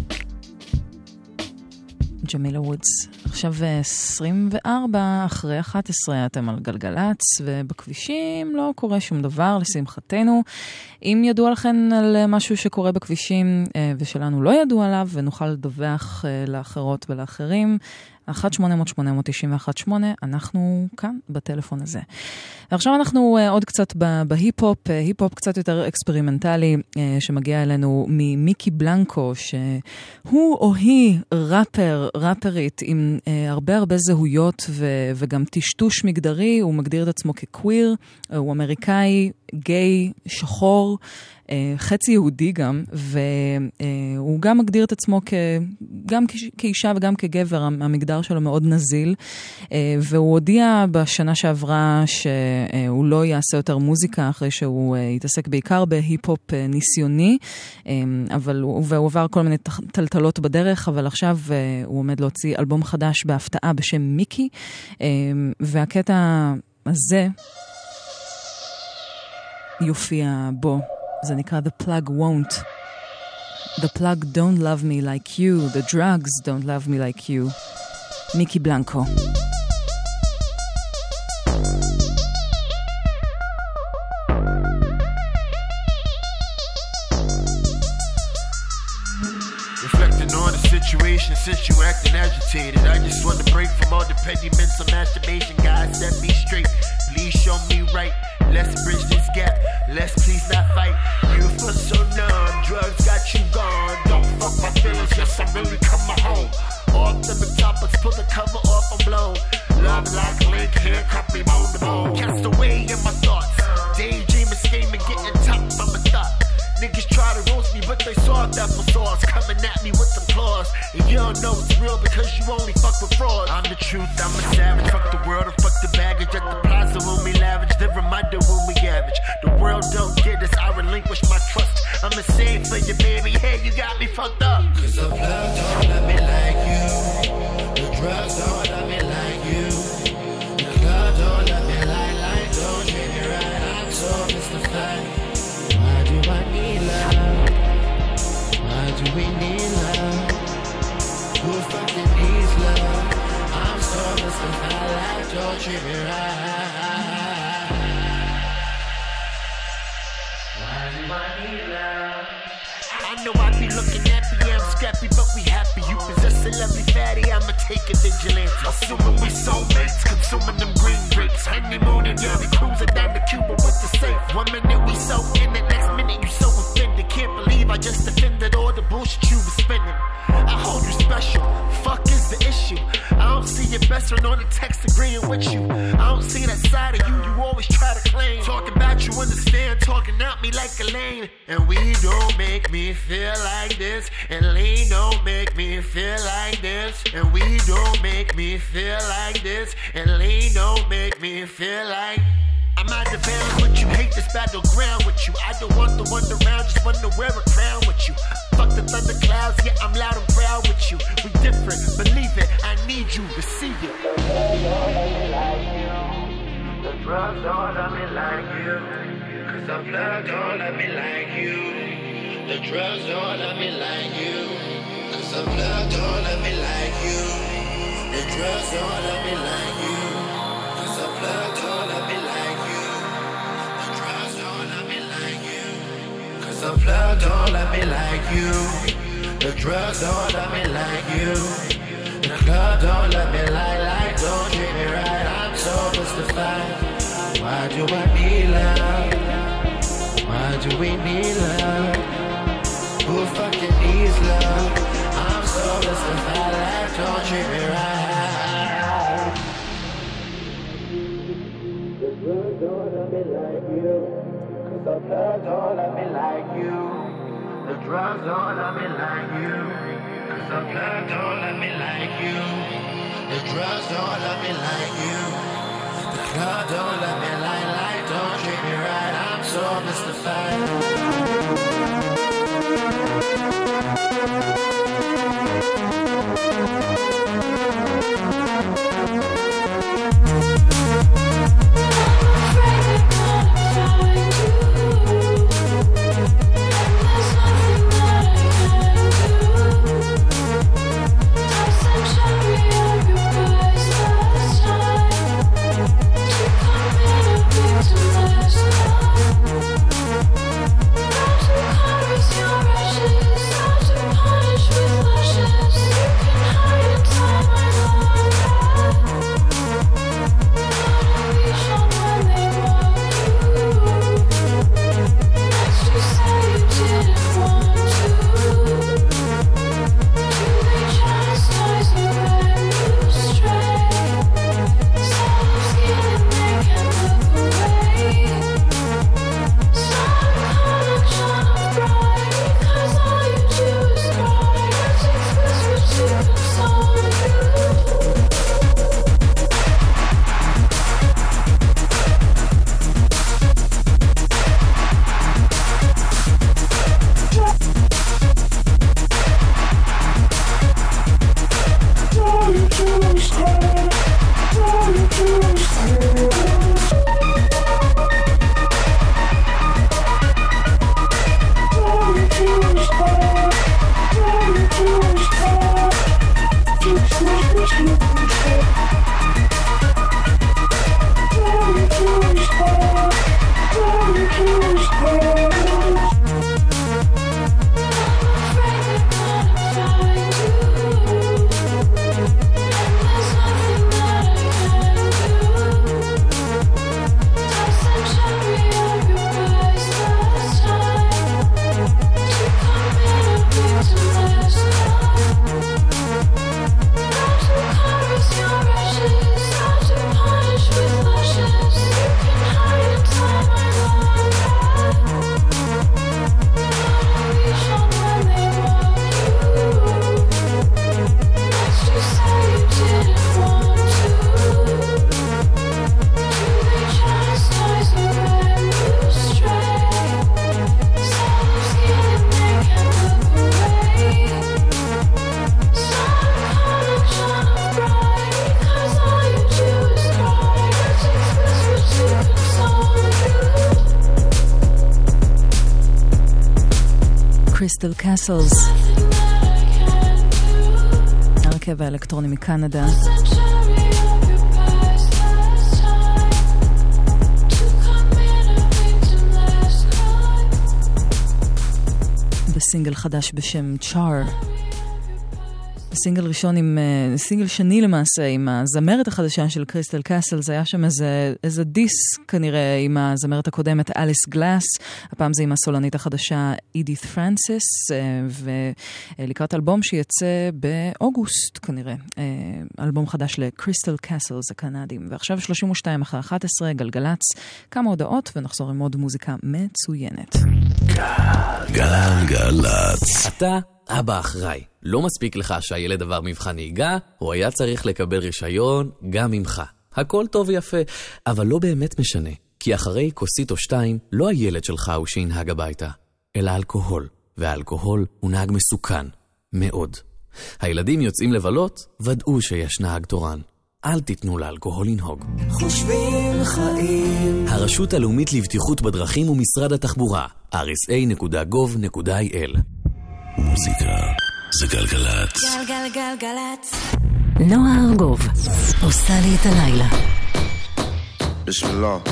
ג'מילה וודס. עכשיו 24 אחרי 11 אתם על גלגלץ, ובכבישים לא קורה שום דבר לשמחתנו. אם ידוע לכם על משהו שקורה בכבישים ושלנו לא ידוע עליו ונוכל לדווח לאחרות ולאחרים, 1-800-891-8, אנחנו כאן בטלפון הזה. ועכשיו אנחנו עוד קצת בהיפ-הופ, היפ-הופ קצת יותר אקספרימנטלי, שמגיע אלינו ממיקי בלנקו, שהוא או היא ראפרית עם הרבה זהויות וגם טשטוש מגדרי, הוא מגדיר את עצמו כקוויר, הוא אמריקאי, גיי, שחור, חצי יהודי גם, והוא גם מגדיר את עצמו גם כאישה וגם כגבר, המגדר שלו מאוד נזיל, והוא הודיע בשנה שעברה שהוא לא יעשה יותר מוזיקה, אחרי שהוא יתעסק בעיקר בהיפ-הופ ניסיוני, והוא עבר כל מיני טלטלות בדרך, אבל עכשיו הוא עומד להוציא אלבום חדש בהפתעה בשם מיקי, והקטע הזה יופיע בו. זה נקרא The Plug Won't. The plug don't love me like you. The drugs don't love me like you. מיקי בלנקו. Reflecting on the situation since you acting agitated. I just want to break from all the petty mental masturbation. God set me straight. Please show me right. Let's bridge this gap. Let's please not fight. You feel so numb. Drugs got you gone. Don't fuck my feelings. Yes, I'm really coming home. Off the top, let's pull the cover off. I'm blown. Love like a link, handcuff me bone to bone. Cast away in my thoughts. Daydreaming, scheming, getting top from a thought. Niggas try to roast me, but they saw that for sauce. Coming at me with them claws. And you don't know it's real because you only fuck with frauds. I'm the truth, I'm a savage. Fuck the world and fuck the baggage. At the plaza when we lavish, the reminder when we average. The world don't get us, I relinquish my trust. I'm a save for you, baby. Hey, you got me fucked up. Cause the plug don't let me like you. The drugs don't let me like you. The club don't let me like, don't treat me right. I'm so mystified. Why do I need love? Why do we need love? Who fucking needs love? I'm so mystified, like don't treat me right. Why do I need love? I know I be looking at me, I'm scrappy, but we happy. You possess a lovely fatty, I'ma take a vigilante. Assuming we soulmates, consuming them green grapes. Honeymooning, yeah, we cruising down to Cuba with the safe. 1 minute we so in the next minute you so offended. Can't believe I just defended all the bullshit you was spinning. I hold you special, fuck is the issue. I don't see your best friend on the text agreeing with you. I don't see that side of you, you always try to claim. Talking about you understand, talking at me like a lame. And we don't make me feel like this. And lean don't make me feel like this. And we don't make me feel like this. And lean don't make me feel like I'm out of bounds with you, hate this battleground with you. I don't want the one around, just want to wear a crown with you. Fuck the thunder clouds, yeah, I'm loud and proud with you. We different, believe it, I need you to see it. The drugs don't let me like you. Cause the plug don't let me like you. The drugs don't let me like you. Cause the plug don't let me like you. The drugs don't let me like you. Cause the plug don't let me like you. The drugs don't let me like you. Cause the plug don't let me like you. The drugs don't let me like you. The club don't let me like, don't treat me right. I'm so mystified. Why do I need love? Why do we need love? Who fucking needs love? I'm so mystified, like don't treat me right. The drugs don't let me like you. Cause the blood don't let me like you. The drugs don't let me like you. Cause the blood don't let me like you. The drugs don't let me like you. The club don't let me like, don't treat me right. I'm so mystified. קריסטל קאסלס. הרכב האלקטרוני מקנדה. בסינגל חדש בשם צ'אר. סינגל ראשון סינגל שני למעשה עם הזמרת החדשה של קריסטל קאסלס. היה שם איזה דיס כנראה עם הזמרת הקודמת אליס גלאס. הפעם זה עם הסולנית החדשה אידית פרנסיס, ולקראת אלבום שיצא באוגוסט כנראה. אלבום חדש לקריסטל קאסלס הקנדים. ועכשיו 32 אחרי 11, גלגלץ, כמה הודעות ונחזור עם עוד מוזיקה מצוינת. גלגלץ. אתה אבא אחראי. לא מספיק לך שהילד עבר מבחן נהיגה, הוא היה צריך לקבל רישיון גם ממך. הכל טוב ויפה, אבל לא באמת משנה. כי אחרי כוסית או שתיים, לא הילד שלך הוא שינהג הביתה, אלא אלכוהול. והאלכוהול הוא נהג מסוכן. מאוד. הילדים יוצאים לבלות, ודאו שיש נהג תורן. אל תיתנו לאלכוהול לנהוג. חושבים חיים. הרשות הלאומית לבטיחות בדרכים ומשרד התחבורה, rsa.gov.il. מוזיקה זה גלגלץ. גלגלגלגלץ. נועה ארגוב עושה לי את הלילה. Bismillah.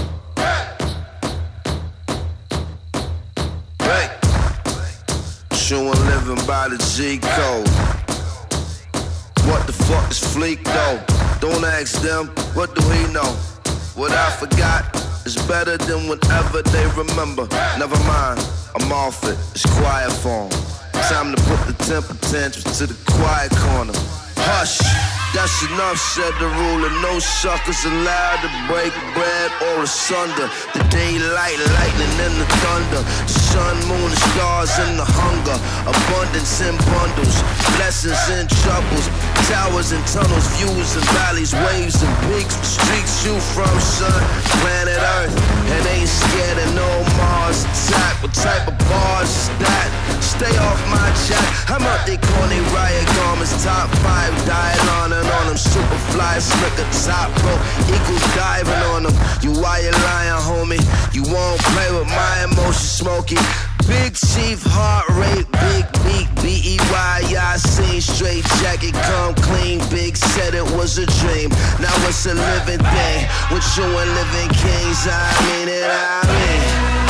Hey, showing living by the G code. What the fuck is Fleek though? Don't ask them, what do he know? What I forgot is better than whatever they remember. Never mind, I'm off it, it's quiet form. Time to put the temper tantrums to the quiet corner. Hush, that's enough, said the ruler. No suckers allowed to break bread or asunder. The daylight, lightning and the thunder. The sun, moon, the stars and the hunger. Abundance in bundles, blessings and troubles. Towers and tunnels, views and valleys, waves and peaks. Streets you from, son, planet Earth. And ain't scared of no Mars attack. What type of bars is that? Stay off my jack. I'm out they corny riot garments. Top 5 dial on them. Superfly, slicker, top rope. Eagle diving on them. You why you lying, homie? You won't play with my emotions, Smokey. Big chief, heart rate, big beat, B-E-Y, I seen straight jacket, come clean, big said it was a dream, now it's a living thing, with you and living kings, I mean it, I mean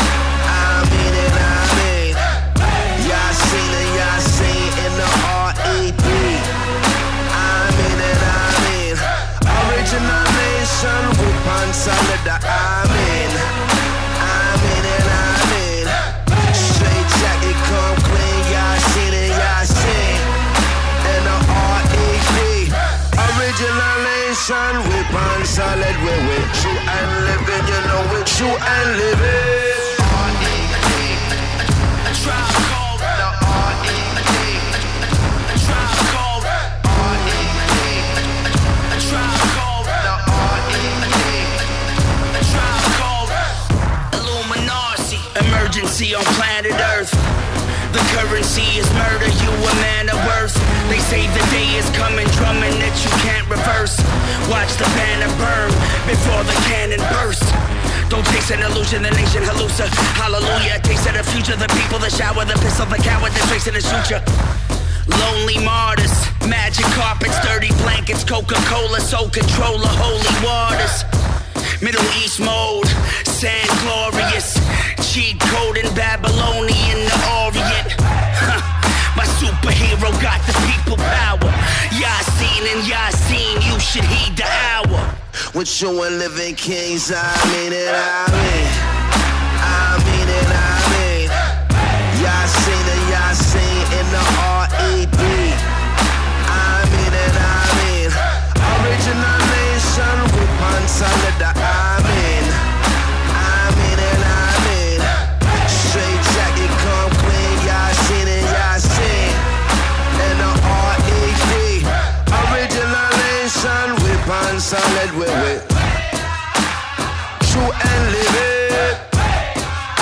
it, y'all seen it, y'all seen in the R.E.B., I mean it, original nation, with on solid, I mean it, jacket come clean, y'all seen it, y'all seen. And the R.E.P. Original nation, whip on solid, we're with you and living, you know with you and living. R.E.P. Tribe called the R.E.P. Tribe called R.E.P. Tribe called the R.E.P. Tribe called Illuminati. Emergency on planet Earth. The currency is murder, you a man of worth. They say the day is coming, drumming that you can't reverse. Watch the banner burn before the cannon bursts. Don't chase an illusion, the nation hallucina. Hallelujah, taste of the future, the people, the shower, the pistol, the coward, the trace of the suture. Lonely martyrs, magic carpets, dirty blankets, Coca-Cola, soul controller, holy waters. Middle East mode, sand glorious, cheat code in Babylonian, the Orient. My superhero got the people power. Yasin and Yasin, you should heed the hour. With you and living kings, I mean it, I mean it. Yasin and Yasin in the R.E.B., I mean it, original nation, with on solid, I mean it, straight jacket come clean, y'all seen it, y'all seen. And the R.E.P. original nation, with on solid, with true and living.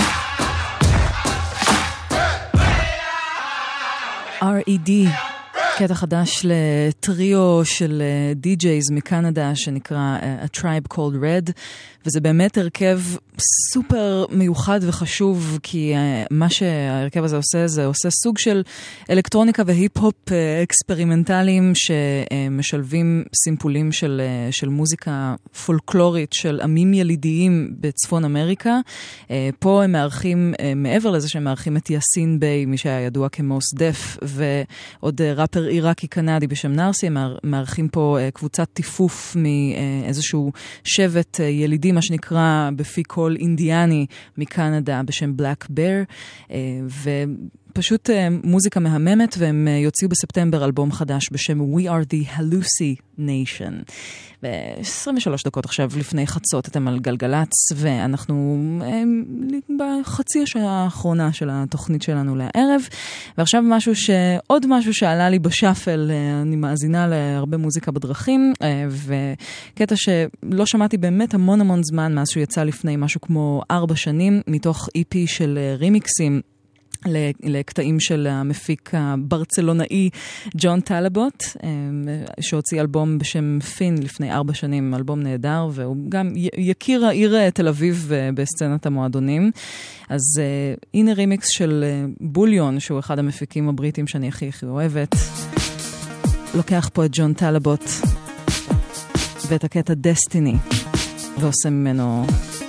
R.E.D. קטע חדש לטריו של די-ג'ייז מקנדה שנקרא A Tribe Called Red, וזה באמת הרכב סופר מיוחד וחשוב, כי מה שההרכב הזה עושה, זה עושה סוג של אלקטרוניקה והיפ-הופ אקספרימנטליים שמשלבים סימפולים של מוזיקה פולקלורית של עמים ילידיים בצפון אמריקה. פה הם מארחים, מעבר לזה שהם מארחים את יאסין ביי, מי שהיה ידוע כמוס דף, ועוד ראפר עיראקי קנדי בשם נרסי. הם מארחים פה קבוצת טיפוף מאיזשהו שבט ילידי, מה שנקרא בפי קול אינדיאני מקנדה בשם בלק בר, ופשוט מוזיקה מהממת, והם יוציאו בספטמבר אלבום חדש בשם We Are the Hallucination. ב-23 דקות עכשיו לפני חצות אתם על גלגלץ, ואנחנו בחצי השעה האחרונה של התוכנית שלנו לערב, ועכשיו עוד משהו שעלה לי בשאפל. אני מאזינה להרבה מוזיקה בדרכים, וקטע שלא שמעתי באמת המון זמן מאז שהוא יצא לפני משהו כמו 4 שנים, מתוך EP של רימיקסים לקטעים של המפיק הברצלונאי ג'ון טלבוט, שהוציא אלבום בשם פין לפני 4 שנים, אלבום נהדר, והוא גם יכיר העיר תל אביב בסצנת המועדונים. אז הנה רימיקס של בוליון, שהוא אחד המפיקים הבריטים שאני הכי אוהבת. לוקח פה את ג'ון טלבוט ואת הקטע דסטיני, ועושה ממנו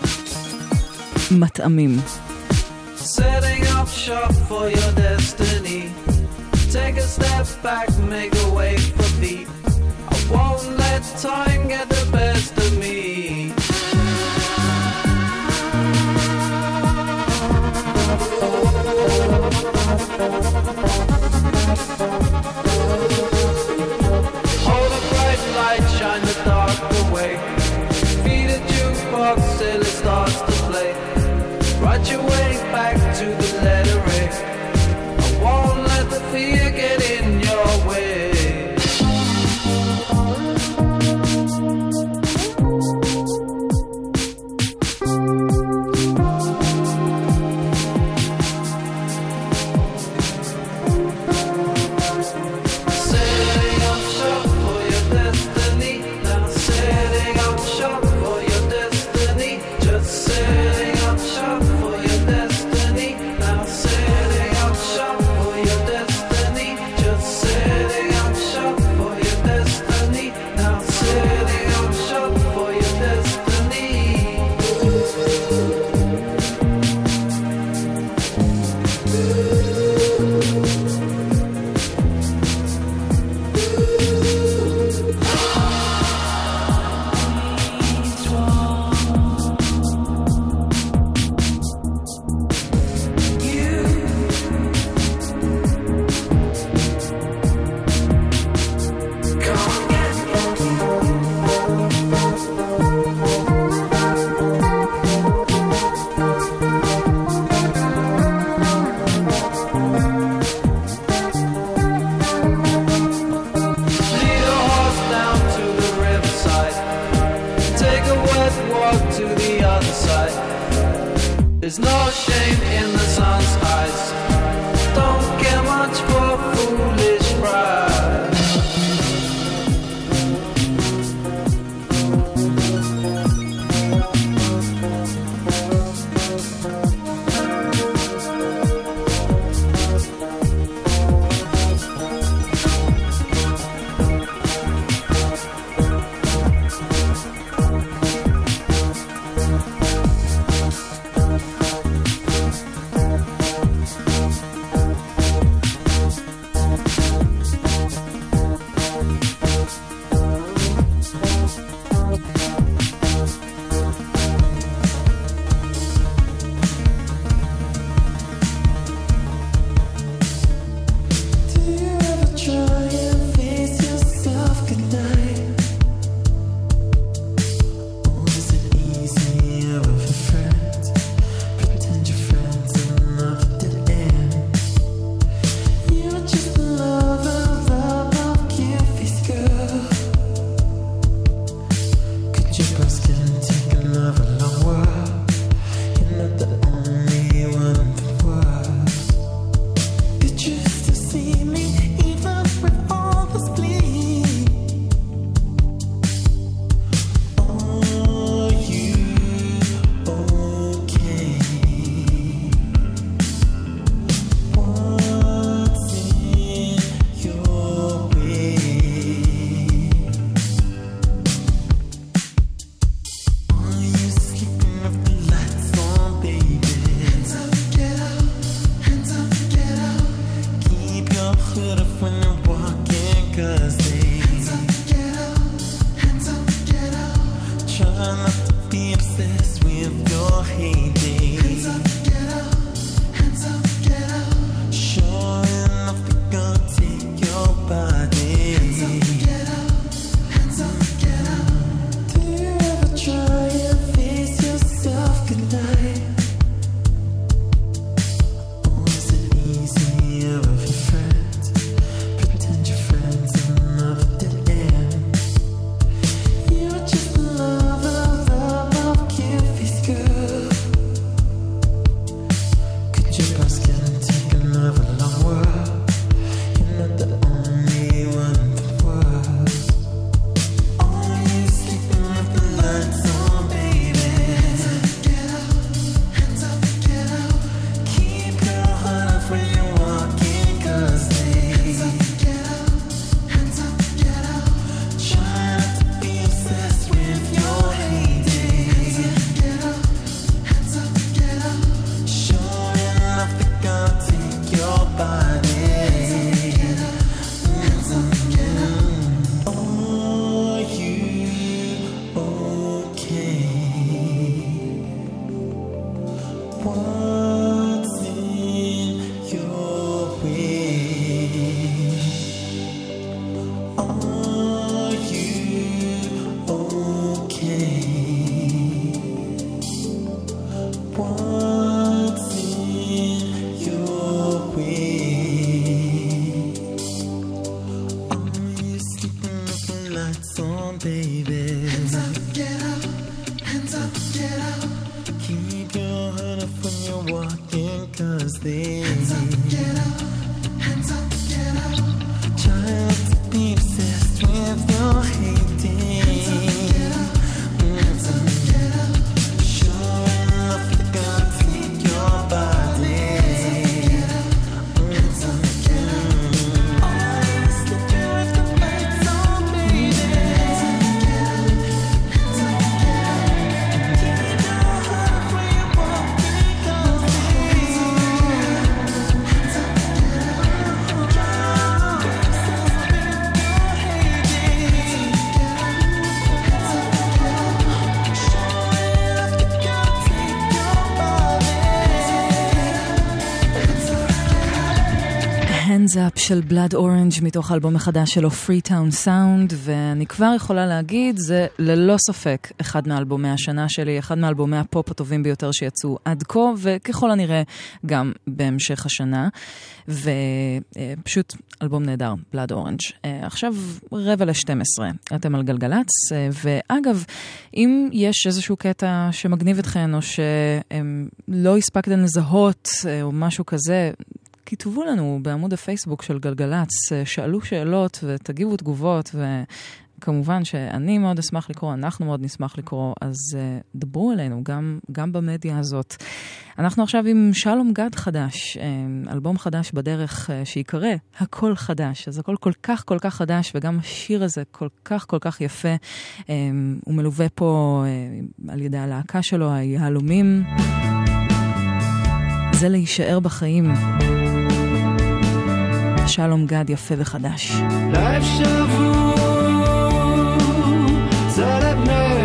מטעמים. Setting up shop for your destiny. Take a step back, make a way for me. I won't let time get the best of me. Hold a bright light, shine the dark away. Feed a jukebox till it starts to play. Right your way back to the letter A. I won't let the fear get in your way. Setting up shop for your destiny. Now setting up shop for your destiny. Just setting up shop. There's no shame in the sun's eyes. Don't care much for foolish pride. Hands Up של Blood Orange מתוך האלבום החדש שלו Freetown Sound, ואני כבר יכולה להגיד, זה ללא ספק אחד מאלבומי השנה שלי, אחד מאלבומי הפופ הטובים ביותר שיצאו עד כה, וככל הנראה גם בהמשך השנה, ופשוט אלבום נהדר, Blood Orange. עכשיו 11:45, אתם על גלגלץ, ואגב, אם יש איזשהו קטע שמגניב אתכן, או שלא הספקתן לזהות, או משהו כזה, כתבו לנו בעמוד הפייסבוק של גלגלץ, שאלו שאלות ותגיבו תגובות, וכמובן שאני מאוד אשמח לקרוא, אנחנו מאוד נשמח לקרוא, אז דברו אלינו גם במדיה הזאת. אנחנו עכשיו עם שלום גד חדש, אלבום חדש בדרך שיקרא הכל חדש, אז הכל כל כך חדש, וגם השיר הזה כל כך יפה, הוא מלווה פה על ידי הלהקה שלו, היהלומים, זה להישאר בחיים. שלום גד יפה וחדש. לב שבור זה לבני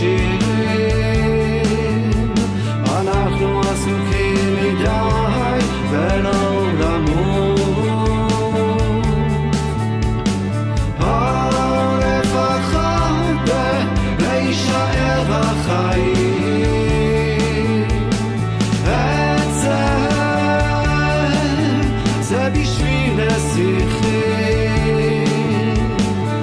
השירים, אנחנו עסוקים מדי ולא למות, לפחות להישאר בחיים. זה בשביל השיחים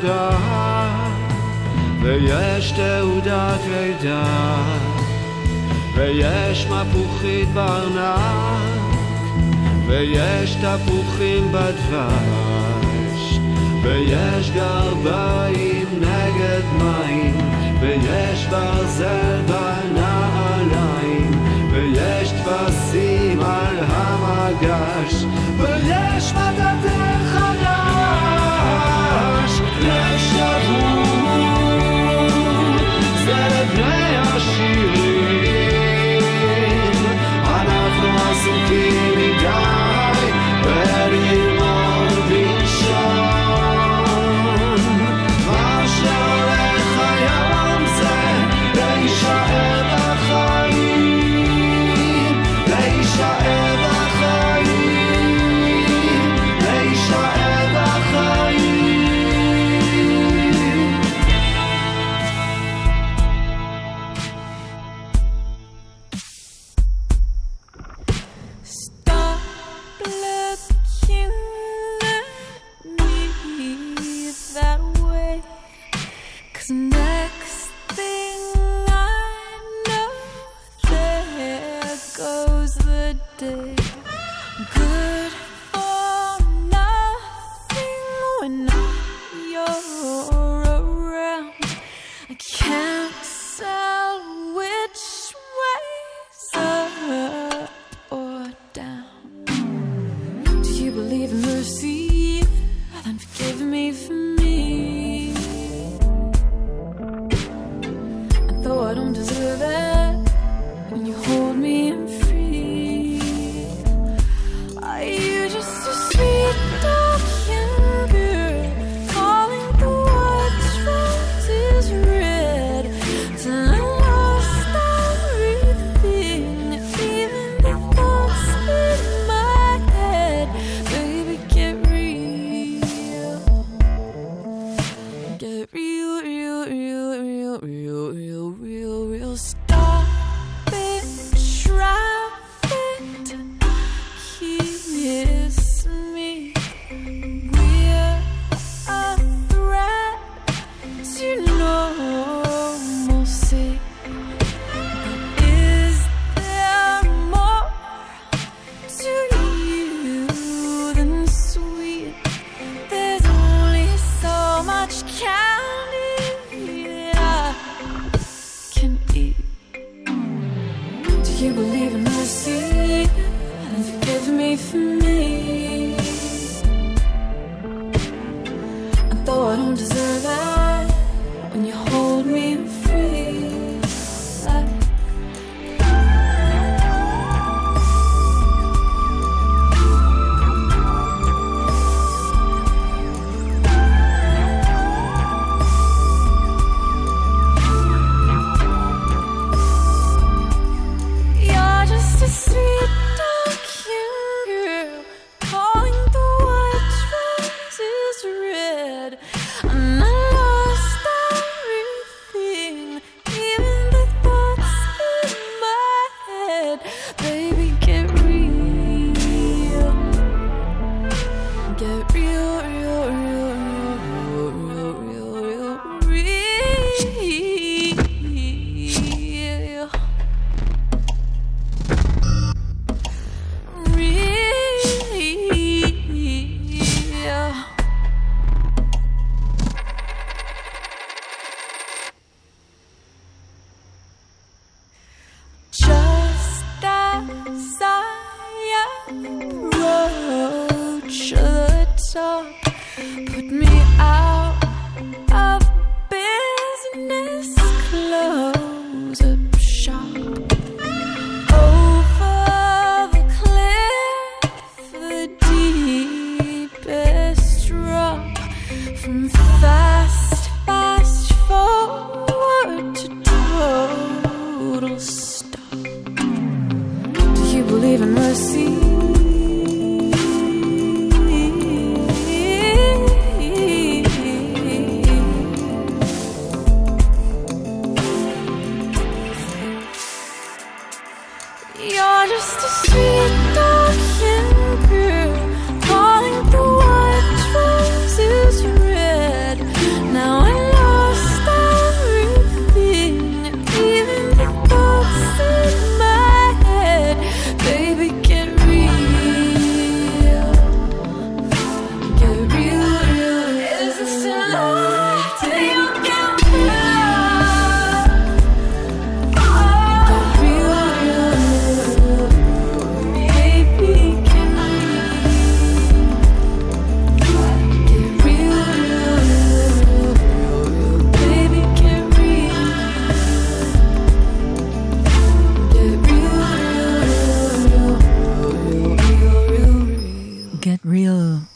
תעודה ויש תעודת לידה ויש מפוחית בארנק ויש תפוחים בדבש ויש גרביים נגד מים ויש ברזל בנעליים ויש תפסים על המגש ויש מטאטא חדש לשבוע זה לבני השירים אנחנו עסוקים מדי וללמוד לישון מה שהולך היום זה להישאר בחיים להישאר בחיים להישאר בחיים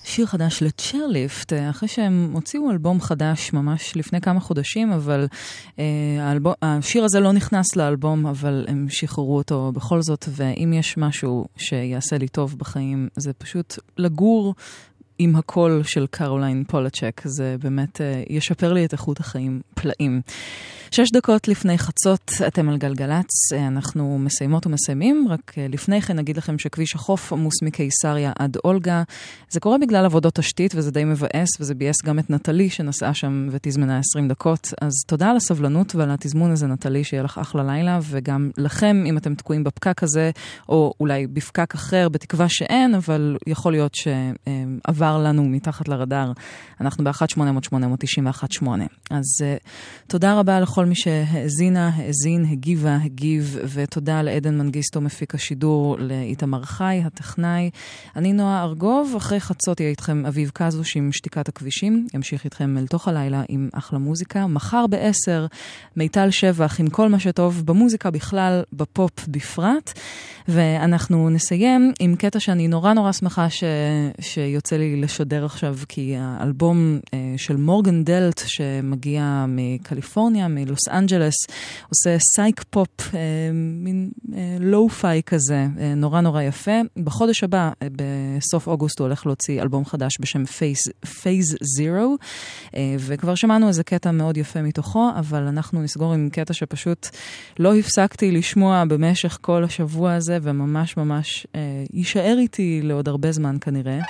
שיר חדש לצ'רליפט, אחרי שהם הוציאו אלבום חדש ממש לפני כמה חודשים, אבל השיר הזה לא נכנס לאלבום, אבל הם שחררו אותו בכל זאת, ואם יש משהו שיעשה לי טוב בחיים, זה פשוט לגור עם הקול של קרוליין פולצ'ק, זה באמת ישפר לי את איכות החיים פלאים. 6 דקות לפני חצות, אתם על גלגלץ, אנחנו מסיימות ומסיימים, רק לפני כן נגיד לכם שכביש החוף עמוס מקיסריה עד אולגה, זה קורה בגלל עבודות תשתית וזה די מבאס, וזה בייס גם את נטלי שנסעה שם ותזמנה 20 דקות, אז תודה על הסבלנות ועל התזמון הזה נטלי, שיהיה לך אחלה לילה, וגם לכם אם אתם תקועים בפקק הזה, או אולי בפקק אחר, בתקווה שאין, אבל יכול להיות שעבר לנו מתחת לרדאר, אנחנו ב-1-800-891-8, אז תודה רבה לכל מי שהאזינה, האזין, הגיבה, הגיב, ותודה לעדן מנגיסטו מפיק השידור, לאיתמר חי, הטכנאי. אני נועה ארגוב, אחרי חצות יהיה איתכם אביב קזוש עם שתיקת הכבישים, ימשיך איתכם אל תוך הלילה עם אחלה מוזיקה. מחר ב-10, מיטל שבח עם כל מה שטוב במוזיקה בכלל, בפופ בפרט, ואנחנו נסיים עם קטע שאני נורא נורא שמחה שיוצא לי לשדר עכשיו, כי האלבום של מורגן דלט שמגיע מקליפורניה, מלוס אנג'לס, עושה סייק פופ, מין לואו-פיי כזה, נורא נורא יפה. בחודש הבא, בסוף אוגוסט, הוא הולך להוציא אלבום חדש בשם Phase Zero, וכבר שמענו איזה קטע מאוד יפה מתוכו, אבל אנחנו נסגור עם קטע שפשוט לא הפסקתי לשמוע במשך כל השבוע הזה, וממש ממש יישאר איתי לעוד הרבה זמן כנראה.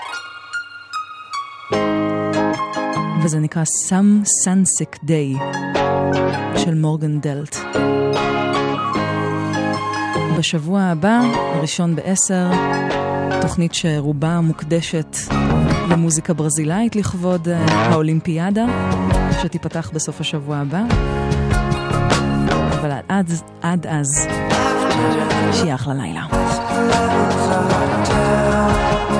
וזה נקרא Some Sunsick Day של מורגן דלט. בשבוע הבא, ראשון ב-10, תוכנית שרובה מוקדשת למוזיקה ברזילאית לכבוד האולימפיאדה, שתיפתח בסוף השבוע הבא. אבל עד אז, שיהיה אחלה לילה.